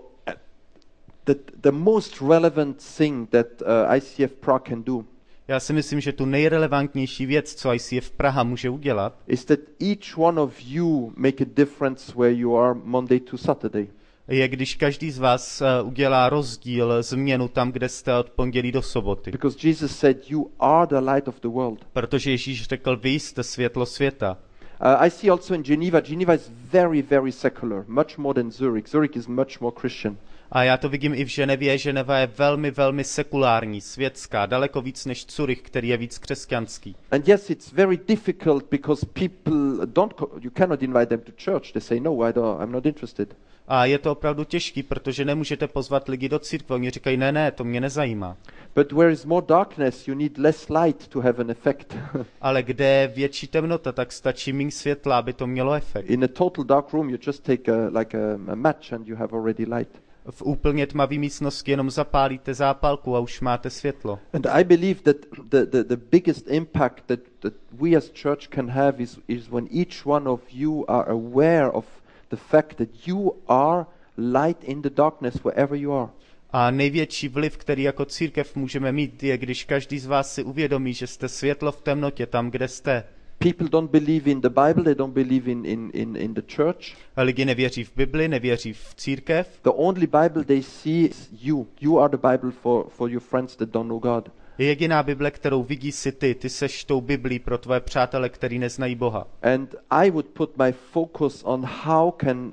the, the most relevant thing that uh, I C F Prague can do Já si myslím, že tu nejrelevantnější věc, co I C F Praha může udělat, is that each one of you make a difference where you are Monday to Saturday. je, když každý z vás uh, udělá rozdíl, změnu tam, kde jste od pondělí do soboty. Because Jesus said, you are the light of the world. Protože Ježíš řekl, vy jste světlo světa. Uh, I see also in Geneva, Geneva is very, very secular, much more than Zurich. Zurich is much more Christian. A já to vidím i v Ženevě. Ženeva je velmi, velmi sekulární, světská, daleko víc než Curych, který je víc křesťanský. And yes, it's very difficult because people don't, co- you cannot invite them to church. They say, no, I don't, I'm not interested. A je to opravdu těžký, protože nemůžete pozvat lidi do církve. Oni říkají, ne, ne, to mě nezajímá. But where is more darkness, you need less light to have an effect. Ale kde je větší temnota, tak stačí méně světla, aby to mělo efekt. In a total dark room, you just take a, like a, a match and you have already light. V úplně tmavé místnosti jenom zapálíte zápalku a už máte světlo. And I believe that the, the, the biggest impact that, that we as church can have is, is when each one of you are aware of the fact that you are light in the darkness wherever you are. A největší vliv, který jako církev můžeme mít, je, když každý z vás si uvědomí, že jste světlo v temnotě tam, kde jste. People don't believe in the Bible, they don't believe in, in, in, in the church. A lidi nevěří v Bibli, nevěří v církev. The only Bible they see is you. You are the Bible for, for your friends that don't know God. Je jediná Bible, kterou vidí si ty. Ty seš tou Biblí pro tvoje přátele, který neznají Boha. And I would put my focus on how can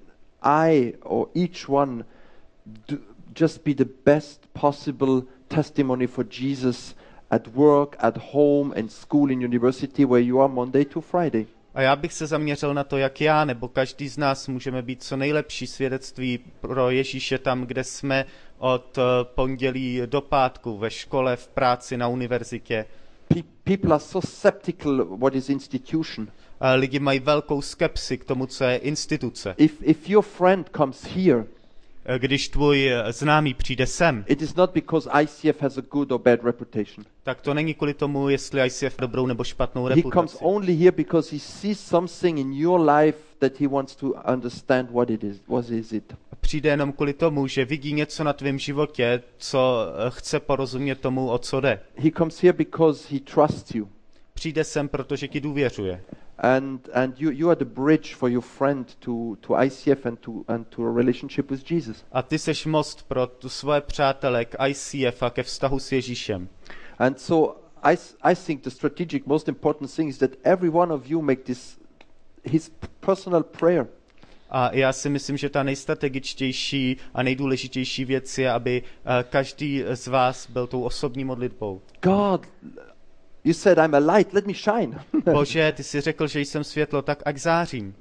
I or each one do, just be the best possible testimony for Jesus at work, at home, and school, in university, where you are Monday to Friday. A já bych se zaměřil na to, jak já nebo každý z nás můžeme být co nejlepší svědectví pro Ježíše tam, kde jsme od pondělí do pátku, ve škole, v práci, na univerzitě. Pe- people are so skeptical what is institution. A lidi mají velkou skepsi k tomu, co je instituce. If if your friend comes here, Když tvůj známý přijde sem, it is not because I C F has a good or bad reputation. tak to není kvůli tomu, jestli I C F dobrou nebo špatnou He comes reputaci. only here because he sees something in your life that he wants to understand what it is. What is it? Přijde jenom kvůli tomu, že vidí něco na tvém životě, co chce porozumět tomu, o co jde. He comes here because he trusts you. Přijde sem, protože ti důvěřuje. And and you, you are the bridge for your friend to, to I C F and to and to a relationship with Jesus. A ty seš most pro tu svoje přátele k I C F a ke vztahu s Ježíšem. And so I, s- I think the strategic most important thing is that every one of you make this his personal prayer. A já si myslím, že ta nejstrategičtější a nejdůležitější věc je, aby eh, každý z vás byl tou osobní modlitbou. God, you said I'm a light, let me shine. Bože, ty jsi řekl, že jsem světlo, tak ať zářím.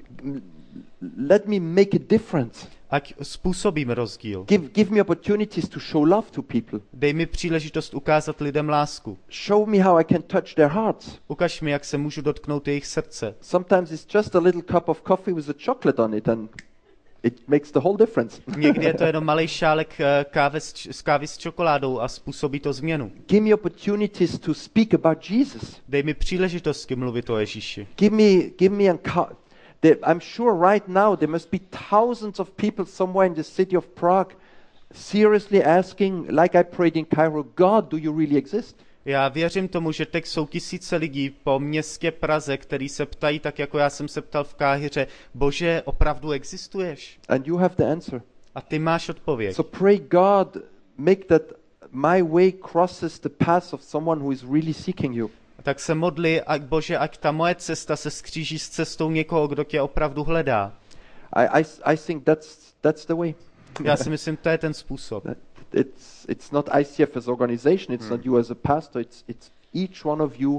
Let me make a difference. Ať způsobím rozdíl. Give, give me opportunities to show love to people. Dej mi příležitost ukázat lidem lásku. Show me how I can touch their hearts. Ukaž mi, jak se můžu dotknout jejich srdce. Sometimes it's just a little cup of coffee with a chocolate on it, and it makes the whole difference. Někdy je to jenom malej šálek eh, kávy s, č- s kávy s čokoládou a způsobí to změnu. Give me opportunities to speak about Jesus. Dej mi příležitosti mluvit o Ježíši. Give me, give me, enco- there, I'm sure right now there must be thousands of people somewhere in the city of Prague seriously asking, like I prayed in Cairo, God, do you really exist? Já věřím tomu, že teď jsou tisíce lidí po městě Praze, který se ptají, tak jako já jsem se ptal v Káhiře, Bože, opravdu existuješ? And you have the answer. A ty máš odpověď. So pray, God, make that my way crosses the path of someone who is really seeking you. Tak se modli, ať Bože, ať ta moje cesta se skříží s cestou někoho, kdo tě opravdu hledá. I, I, I think that's, that's the way. Já si myslím, to je ten způsob. That it's, it's not I C F as organization, it's not you as a pastor, it's, it's each one of you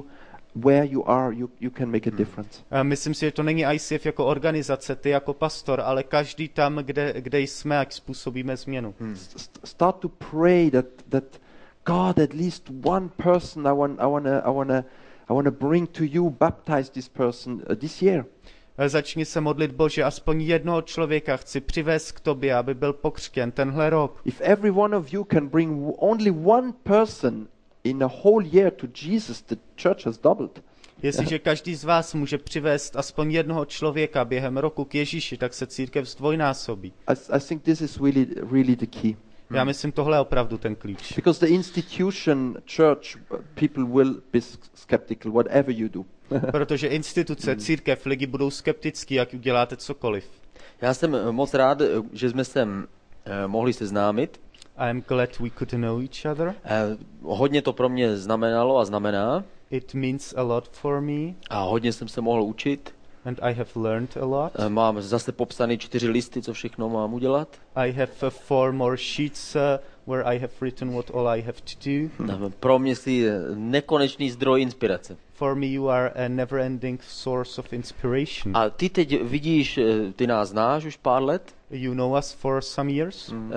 where you are, you, you can make a difference. A myslím si, že to není I C F jako organizace, ty jako pastor, ale každý tam, kde, kde jsme, jak způsobíme změnu. Hmm. Start to pray that that God, at least one person I want I want to I want to I want to bring to you, baptize this person uh, this year. Začni se modlit, Bože, aspoň jednoho člověka chci přivést k tobě, aby byl pokřtěn tenhle rok. If every one of you can bring only one person in a whole year to Jesus, the church has doubled. Jestliže každý z vás může přivést aspoň jednoho člověka během roku k Ježíši, tak se církev zdvojnásobí. I, I think this is really really the key. Já myslím, tohle je opravdu ten klíč. Because the institution church, people will be skeptical whatever you do. Protože instituce, církev, lidi budou skeptický, jak uděláte cokoliv. Já jsem moc rád, že jsme se mohli seznámit. I'm glad we could know each other. Hodně to pro mě znamenalo a znamená. It means a lot for me. A hodně jsem se mohl učit. And I have learned a lot. Mám zase popsané čtyři listy, co všechno mám udělat. I have uh, four more sheets uh, where I have written what all I have to do. Pro mě jsi nekonečný zdroj inspirace. For me you are a never-ending source of inspiration. A ty teď vidíš, ty nás znáš už pár let. You know us for some years. Mm.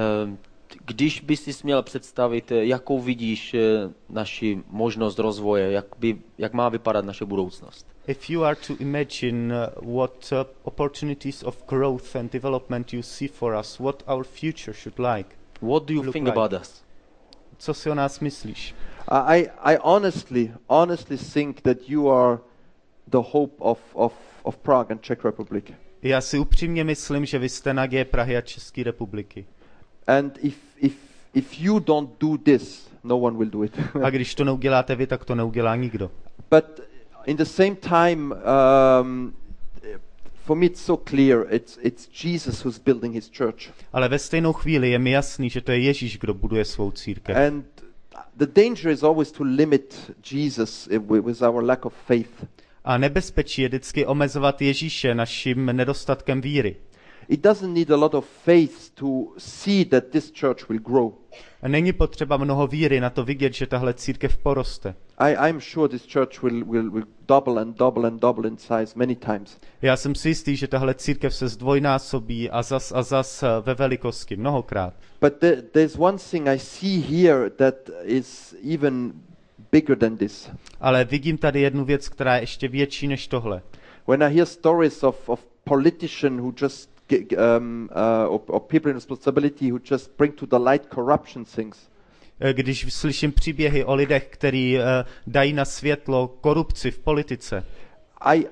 Když bys si měl představit, jakou vidíš naši možnost rozvoje, jak, by, jak má vypadat naše budoucnost? If you are to imagine uh, what uh, opportunities of growth and development you see for us, what our future should like. What do you think like? About us? Co si o nás myslíš? I I honestly honestly think that you are the hope of of of Prague and Czech Republic. Já si upřímně myslím, že vy jste naděje Prahy a České republiky. And if if if you don't do this, no one will do it. A když to neuděláte vy, tak to neudělá nikdo. But in the same time, um, for me it's so clear, it's it's Jesus who's building his church. Ale ve stejnou chvíli je mi jasný, že to je Ježíš, kdo buduje svou církev. And the danger is always to limit Jesus with our lack of faith. A nebezpečí je vždycky omezovat Ježíše naším nedostatkem víry. It doesn't need a lot of faith to see that this church will grow. A není potřeba mnoho víry na to vidět, že tahle církev poroste. I I'm sure this church will will will double and double and double in size many times. Já jsem si jistý, že tahle církev se zdvojnásobí a zas a zas ve velikosti mnohokrát. But there, there's one thing I see here that is even bigger than this. Ale vidím tady jednu věc, která je ještě větší než tohle. When I hear stories of of politicians who just um, uh, or, or people in responsibility who just bring to the light corruption things. Když slyším příběhy o lidech, kteří uh, dají na světlo korupci v politice. I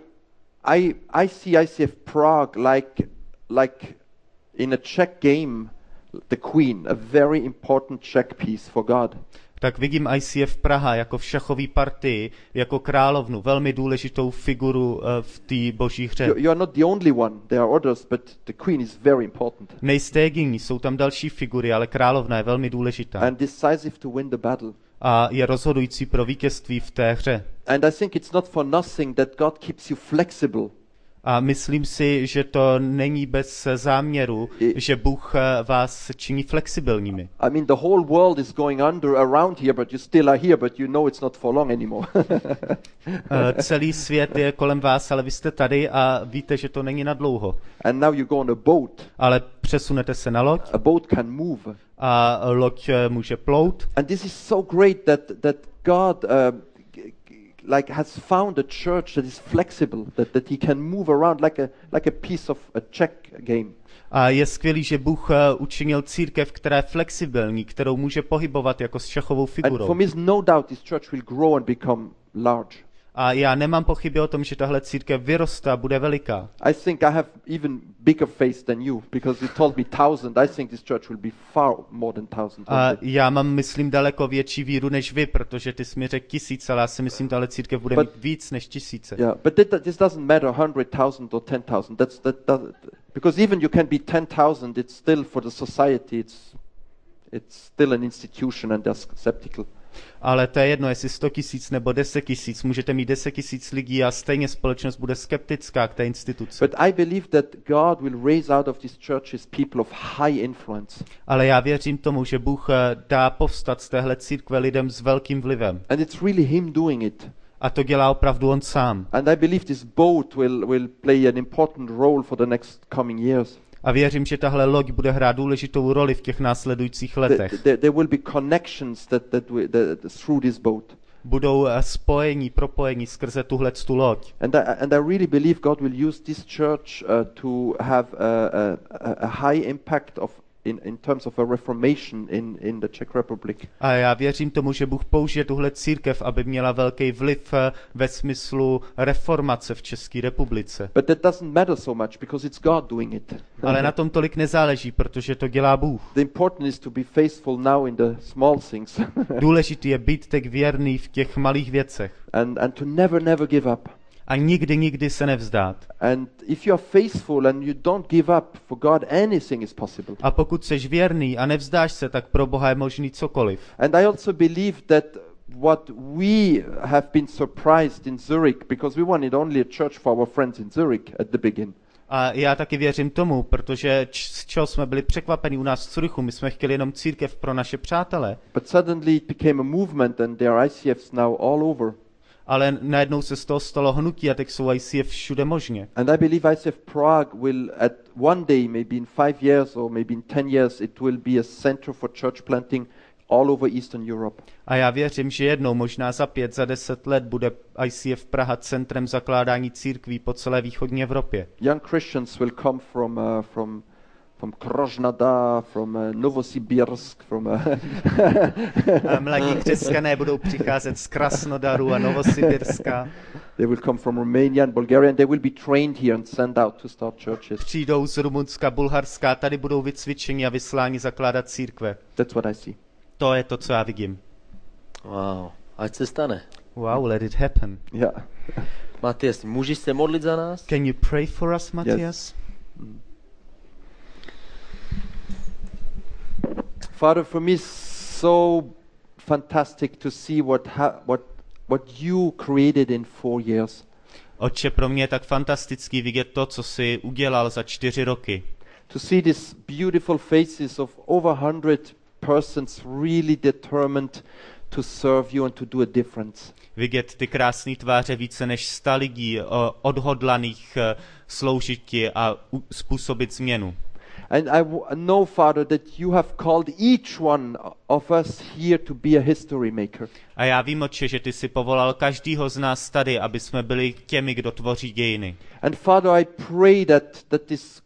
I I see I see Prague like like in a Czech game the queen, a very important Czech piece for God. Tak vidím I C F Praha jako v šachové partii, jako královnu, velmi důležitou figuru uh, v té boží hře. You, you are not the only one, there are others, but the queen is very important. Nejste jediní, jsou tam další figury, ale královna je velmi důležitá. And decisive to win the battle. A je rozhodující pro vítězství v té hře. And I think it's not for nothing that God keeps you flexible. A myslím si, že to není bez záměru, I, že Bůh vás činí flexibilními. I mean, the whole world is going under around here, but you still are here, but you know it's not for long anymore. Celý svět je kolem vás, ale vy jste tady a víte, že to není na dlouho. And now you go on a boat. Ale přesunete se na loď. A boat can move. A loď může plout. And this is so great that that God uh, like has found a church that is flexible, that that he can move around like a like a piece of a Czech game. A je skvělý, že Bůh učinil církev, která je flexibilní, kterou může pohybovat jako s šachovou figurou. And for me is no doubt this church will grow and become large. A já nemám pochyby o tom, že tahle církev vyroste a bude veliká. I think I have even bigger faith than you, because you told me thousand. I think this church will be far more than thousand. A já mám, myslím, daleko větší víru než vy, protože ty jsi mi řekl tisíc, ale já si myslím, že tahle církev bude but, mít víc než tisíce. Yeah, but that, this doesn't matter hundred thousand or ten thousand. That's that, that because even you can be ten thousand. It's still for the society. It's it's still an institution, and they're skeptical. Ale to je jedno, jestli sto tisíc nebo deset tisíc, můžete mít deset tisíc lidí a stejně společnost bude skeptická k té instituci. But I believe that God will raise out of these churches people of high influence. Ale já věřím tomu, že Bůh dá povstat z téhle církve lidem s velkým vlivem. And it's really him doing it. A to dělá opravdu on sám. And I believe this boat will, will play an important role for the next coming years. A věřím, že tahle loď bude hrát důležitou roli v těch následujících letech. There, there will be connections that, that, we, that through this boat. Budou spojení, propojení skrze tuhletu loď. And I, and I really believe God will use this church uh, to have a, a, a high impact of in, in terms of a reformation in, in the Czech Republic. A já věřím tomu, že Bůh použije tuhle církev, aby měla velký vliv ve smyslu reformace v České republice. But that doesn't matter so much because it's God doing it. Ale na tom tolik nezáleží, protože to dělá Bůh. The important is to be faithful now in the small things. Důležitý je být tak věrný v těch malých věcech. and, and to never, never give up. A nikdy, nikdy se nevzdát. And if you are faithful and you don't give up, for God anything is possible. A pokud seš věrný a nevzdáš se, tak pro Boha je možný cokoliv. And I also believe that what we have been surprised in Zurich, because we wanted only a church for our friends in Zurich at the beginning. A já taky věřím tomu, protože z čeho jsme byli překvapeni u nás v Curychu, my jsme chtěli jenom církev pro naše přátele. But suddenly it became a movement and there are I C Fs now all over. Ale najednou se z toho stalo hnutí a teď jsou I C F všude možně. And I believe I C F Prague will at one day, maybe in five years or maybe in ten years, it will be a center for church planting all over Eastern Europe. A já věřím, že jednou, možná za pět, za deset let bude I C F Praha centrem zakládání církví po celé východní Evropě. Young Christians will come from uh, from from Krasnodar, from uh, Novosibirsk, from uh, A mladí křesťané budou přicházet z Krasnodaru a Novosibirska. They will come from Romania and Bulgaria and they will be trained here and sent out to start churches. Přijdou z Rumunska, Bulharska, tady budou vycvičeni a vysláni zakládat církve. That's what I see. To je to, co já vidím. Wow, ať se stane. Wow, let it happen. Yeah. Matias, můžeš se modlit za nás? Can you pray for us, Matthias? Yes. Father, for me, so fantastic to see what ha- what what you created in four years. Otče, pro mě je tak fantastický vidět to, co jsi udělal za čtyři roky. To see these beautiful faces of over one hundred persons really determined to serve you and to do a difference. Vidět ty krásné tváře více než sta lidí odhodlaných sloužit ti a způsobit změnu. And I w- know, Father, that you have called each one of us here to be a history maker. A já vím, Otče, že ty jsi povolal každýho z nás tady, aby jsme byli těmi, kdo tvoří dějiny. And Father, I pray that that this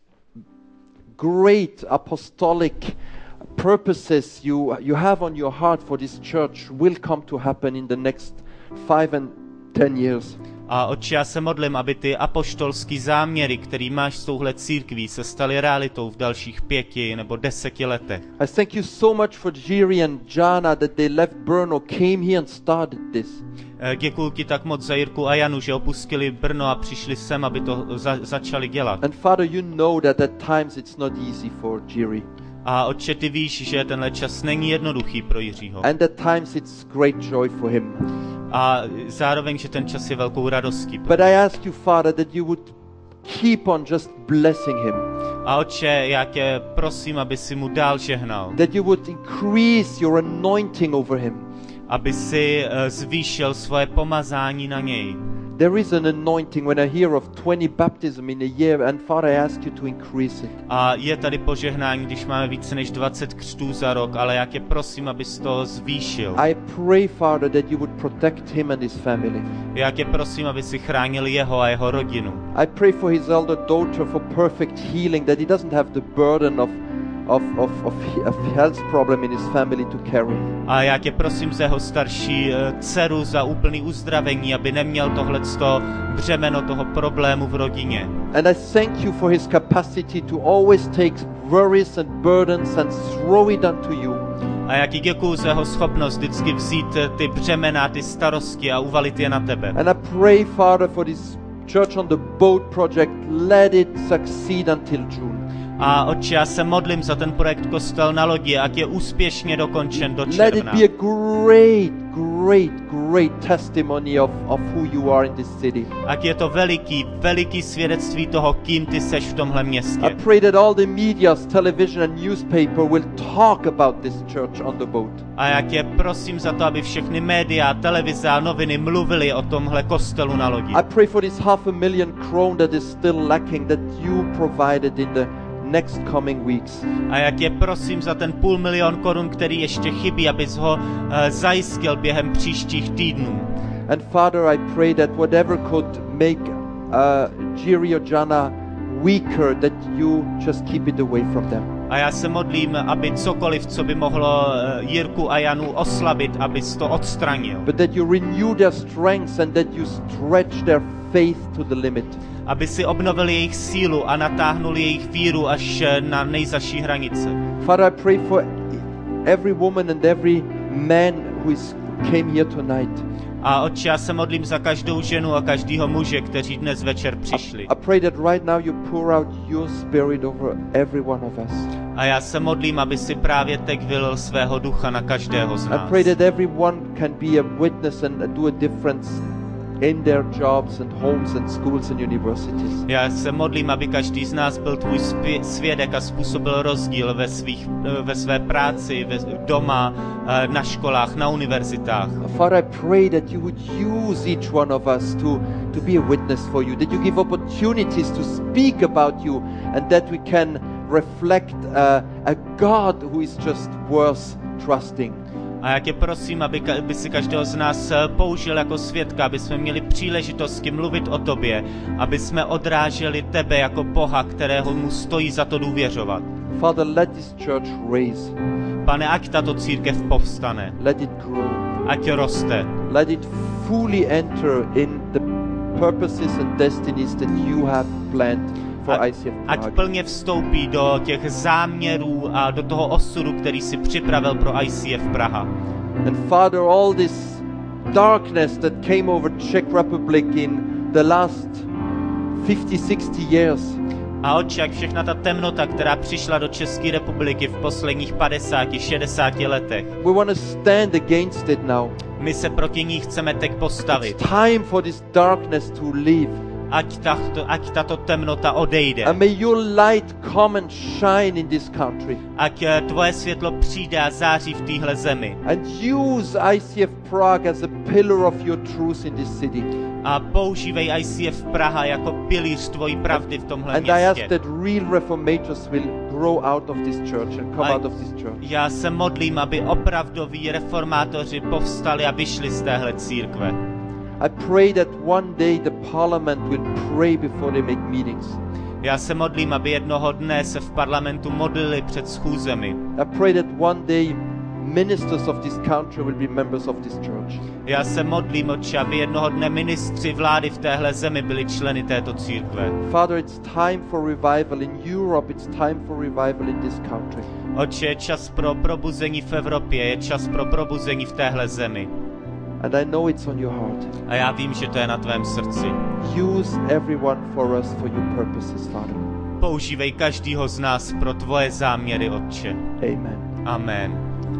great apostolic purposes you you have on your heart for this church will come to happen in the next five and ten years. A Otče, já se modlím, aby ty apoštolský záměry, který máš s touhle církví, se staly realitou v dalších pěti nebo deseti letech. I thank you so much for Jiri and Jana that they left Brno, came here and started this. Děkuji ti tak moc za Jirku a Janu, že opustili Brno a přišli sem, aby to za- začali dělat. And Father, you know that at times it's not easy for Jiri. A Otče, ty víš, že tenhle čas není jednoduchý pro Jiřího. And at times it's great joy for him. A zároveň, že ten čas je velkou radostí. But I ask you, Father, that you would keep on just blessing him. A Otče, já tě prosím, aby si mu dál žehnal. That you would increase your anointing over him. Aby si uh, zvýšil svoje pomazání na něj. There is an anointing when I hear of twenty baptism in a year, and Father, I ask you to increase it. A je tady požehnání, když máme více než dvacet křtů za rok, ale já tě prosím, abys to zvýšil. I pray, Father, that you would protect him and his family. Já tě prosím, aby si chránil jeho a jeho rodinu. I pray for his elder daughter for perfect healing, that he doesn't have the burden of Of, of, of, of health problem in his family to carry. A já tě prosím za jeho starší uh, dceru za úplný uzdravení, aby neměl tohleto břemeno toho problému v rodině. And I thank you for his capacity to always take worries and burdens and throw it unto you. A já ti děkuju za jeho schopnost vždycky vzít ty břemena, ty starosti a uvalit je na tebe. And I pray, Father, for this Church on the Boat project, let it succeed until June. A Otče, já se modlím za ten projekt Kostel na lodi, ať je úspěšně dokončen do Let it června. be a great, great, great testimony of, of who you are in this city. Ať je to veliký, veliký svědectví toho, kým ty seš v tomhle I městě. pray that all the medias, television and newspaper will talk about this church on the boat. A já tě prosím za to, aby všechny média, televize a noviny mluvily o tomhle kostelu na lodi. I pray for this half a million krone that is still lacking, that you provided in the next coming weeks. A já tě prosím za ten půl milion korun, který ještě chybí, abys ho uh, zajistil během příštích týdnů. And Father, I pray that whatever could make uh, Jiri or Jana weaker, that you just keep it away from them. A já se modlím, aby cokoliv, co by mohlo uh, Jirku a Janu oslabit, abys to odstranil. But that you renew their strengths and that you stretch their faith to the limit. Aby si obnovil jejich sílu a natáhnul jejich víru až na nejzaší hranice. Father, I pray for every woman and every man who is came here tonight. A Otče, já se modlím za každou ženu a každého muže, kteří dnes večer přišli. I pray that right now you pour out your spirit over every one of us. A já se modlím, aby si právě teď vylil svého ducha na každého z I nás. pray that everyone can be a witness and do a difference in their jobs and homes and schools and universities. Já se modlím, aby každý z nás byl tvůj spě- svědek a způsobil rozdíl ve, svých, ve své práci, ve, doma, na školách, na univerzitách. Father, I pray that you would use each one of us to, to be a witness for you, that you give opportunities to speak about you, and that we can reflect uh, a God who is just worth trusting. A já tě prosím, aby, aby si každého z nás použil jako svědka, aby jsme měli příležitosti mluvit o tobě, aby jsme odráželi tebe jako Boha, kterého mu stojí za to důvěřovat. Father, let this church raise. Pane, ať tato církev povstane, Let it grow. ať roste, Let it fully enter in the purposes and destinies that you have planned for I C F ať Prague. plně vstoupí do těch záměrů a do toho osudu, který si připravil pro I C F Praha. And Father, all this darkness that came over Czech Republic in the last fifty, sixty years, A Otče, jak všechna ta temnota, která přišla do České republiky v posledních padesáti, šedesáti letech, we want to stand against it now. my se proti ní chceme teď postavit. It's time for this darkness to leave. Ať, tato, ať tato temnota odejde. And may your light come and shine in this country. Ať eh, tvoje světlo přijde a září v téhle zemi. And use I C F Prague as a pillar of your truth in this city. A používej I C F Praha jako pilíř tvojí pravdy v tomhle And I ask městě. that real reformators will grow out of this church and come A out of this church. já se modlím, aby opravdoví reformátoři povstali a vyšli z téhle církve. I pray that one day the parliament will pray before they make meetings. Já se modlím, aby jednoho dne se v parlamentu modlili před schůzemi. I pray that one day ministers of this country will be members of this church. Já se modlím, Otče, aby jednoho dne ministři vlády v téhle zemi byli členy této církve. Father, it's time for revival in Europe. It's time for revival in this country. Otče, je čas pro probuzení v Evropě, je čas pro probuzení v téhle zemi. And I know it's on your heart. A já vím, že to je na tvém srdci. Use everyone for us for your purposes, Father. Používej každýho z nás pro tvoje záměry, Otče. Amen. Amen.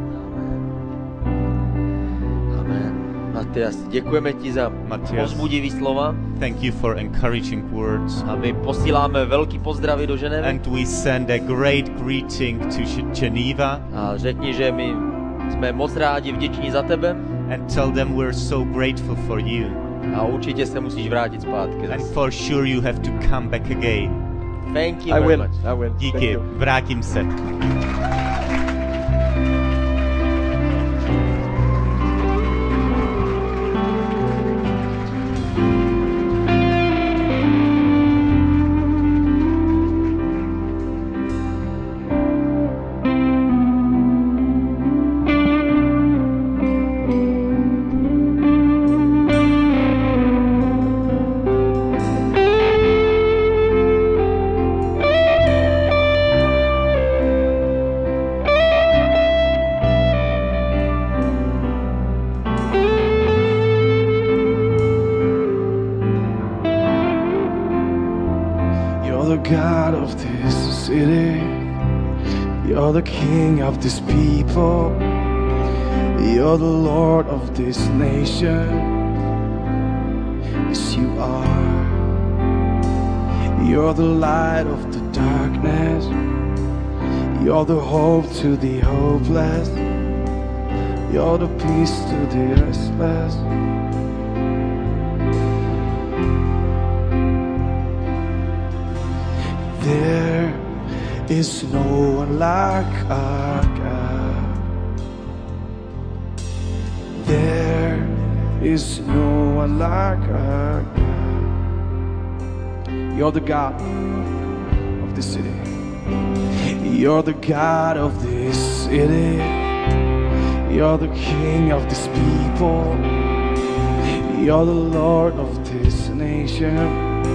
Amen. Matias, děkujeme ti za Matias. povzbudivý slova Thank you for encouraging words. a my posíláme velký pozdravy do Ženevy And we send a great greeting to Geneva a řekni, že my jsme moc rádi, vděční za tebe and tell them we're so grateful for you. a určitě se musíš vrátit zpátky. And for sure you have to come back again. Thank you I very will. much. I will. Thank Díky, you. vrátím se. You're the God of this city. You're the King of this people. You're the Lord of this nation. Yes, you are. You're the light of the darkness. You're the hope to the hopeless. You're the peace to the restless. There is no one like our God. There is no one like our God. You're the God of this city. You're the God of this city. You're the King of this people. You're the Lord of this nation.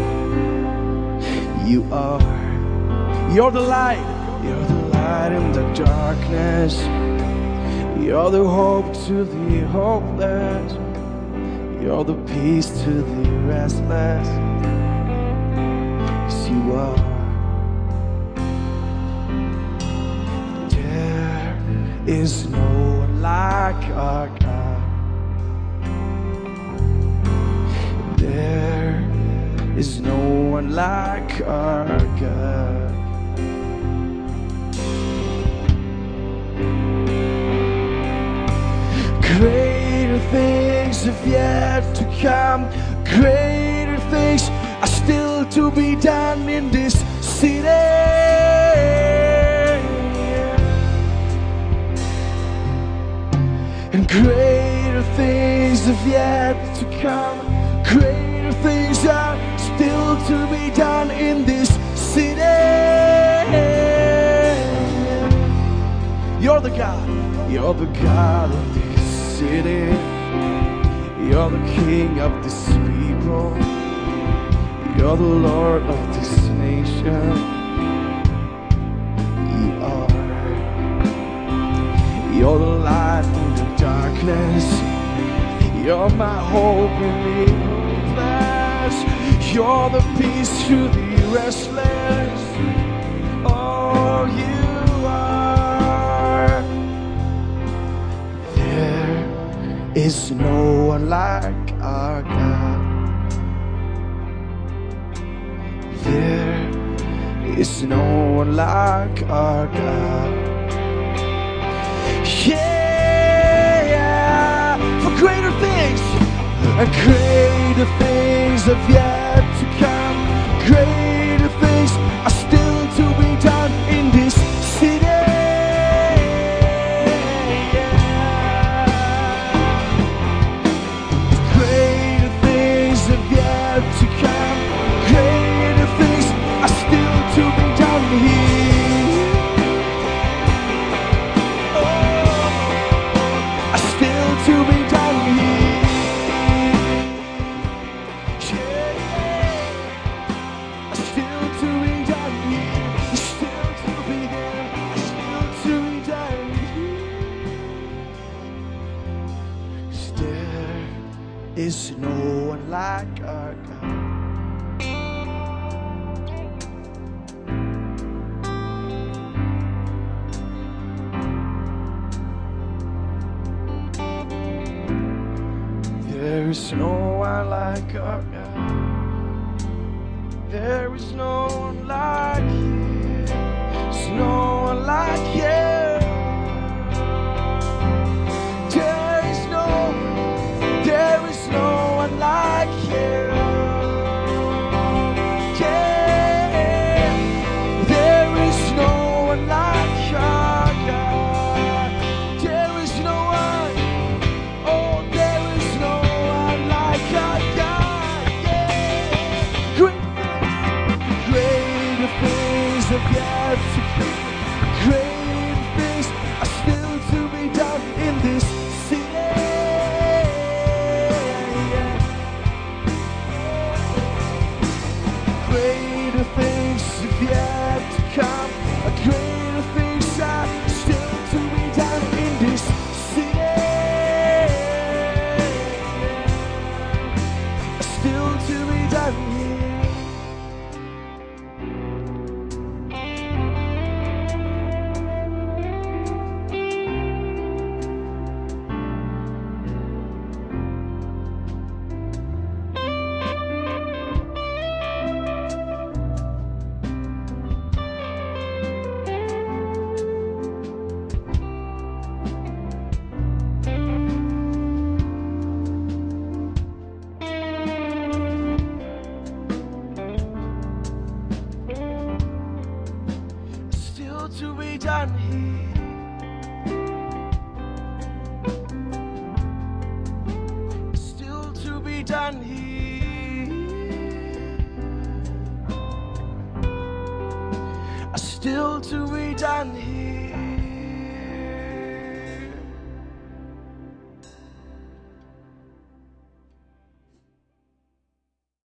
You are. You're the light. You're the light in the darkness. You're the hope to the hopeless. You're the peace to the restless. Yes, you are. There is no one like our God. There is no one like our God. Greater things have yet to come. Greater things are still to be done in this city. And greater things have yet to come. Greater things are still to be done in this city. You're the God. You're the God of this city. You're the King of this people. You're the Lord of this nation. You are. You're the light in the darkness. You're my hope in the hopeless. You're the peace to the restless. Oh, you are. There is no one like our God. There is no one like our God. Yeah, for greater things, and greater things have yet to come. Greater things are still to be done in this city. Greater things have yet to come. Greater things are still to be done here. Oh, are still to be done here. Yeah, are still to be done here. Still to be there. Still to be done here. 'Cause there is no one like our God. There is no one like our God. There is no one like you. There's no one like you. There is no, there is no one like you. Yeah, there is no one like our God. There is no one. Oh, there is no one like our God. Yeah, great, greater things have yet to come. Greater things are still to be done in this city. Yeah. Greater things have yet to come. Greater things are still to be done in this city. Still to be done here. to be done here. Still to be done here. Still to be done here.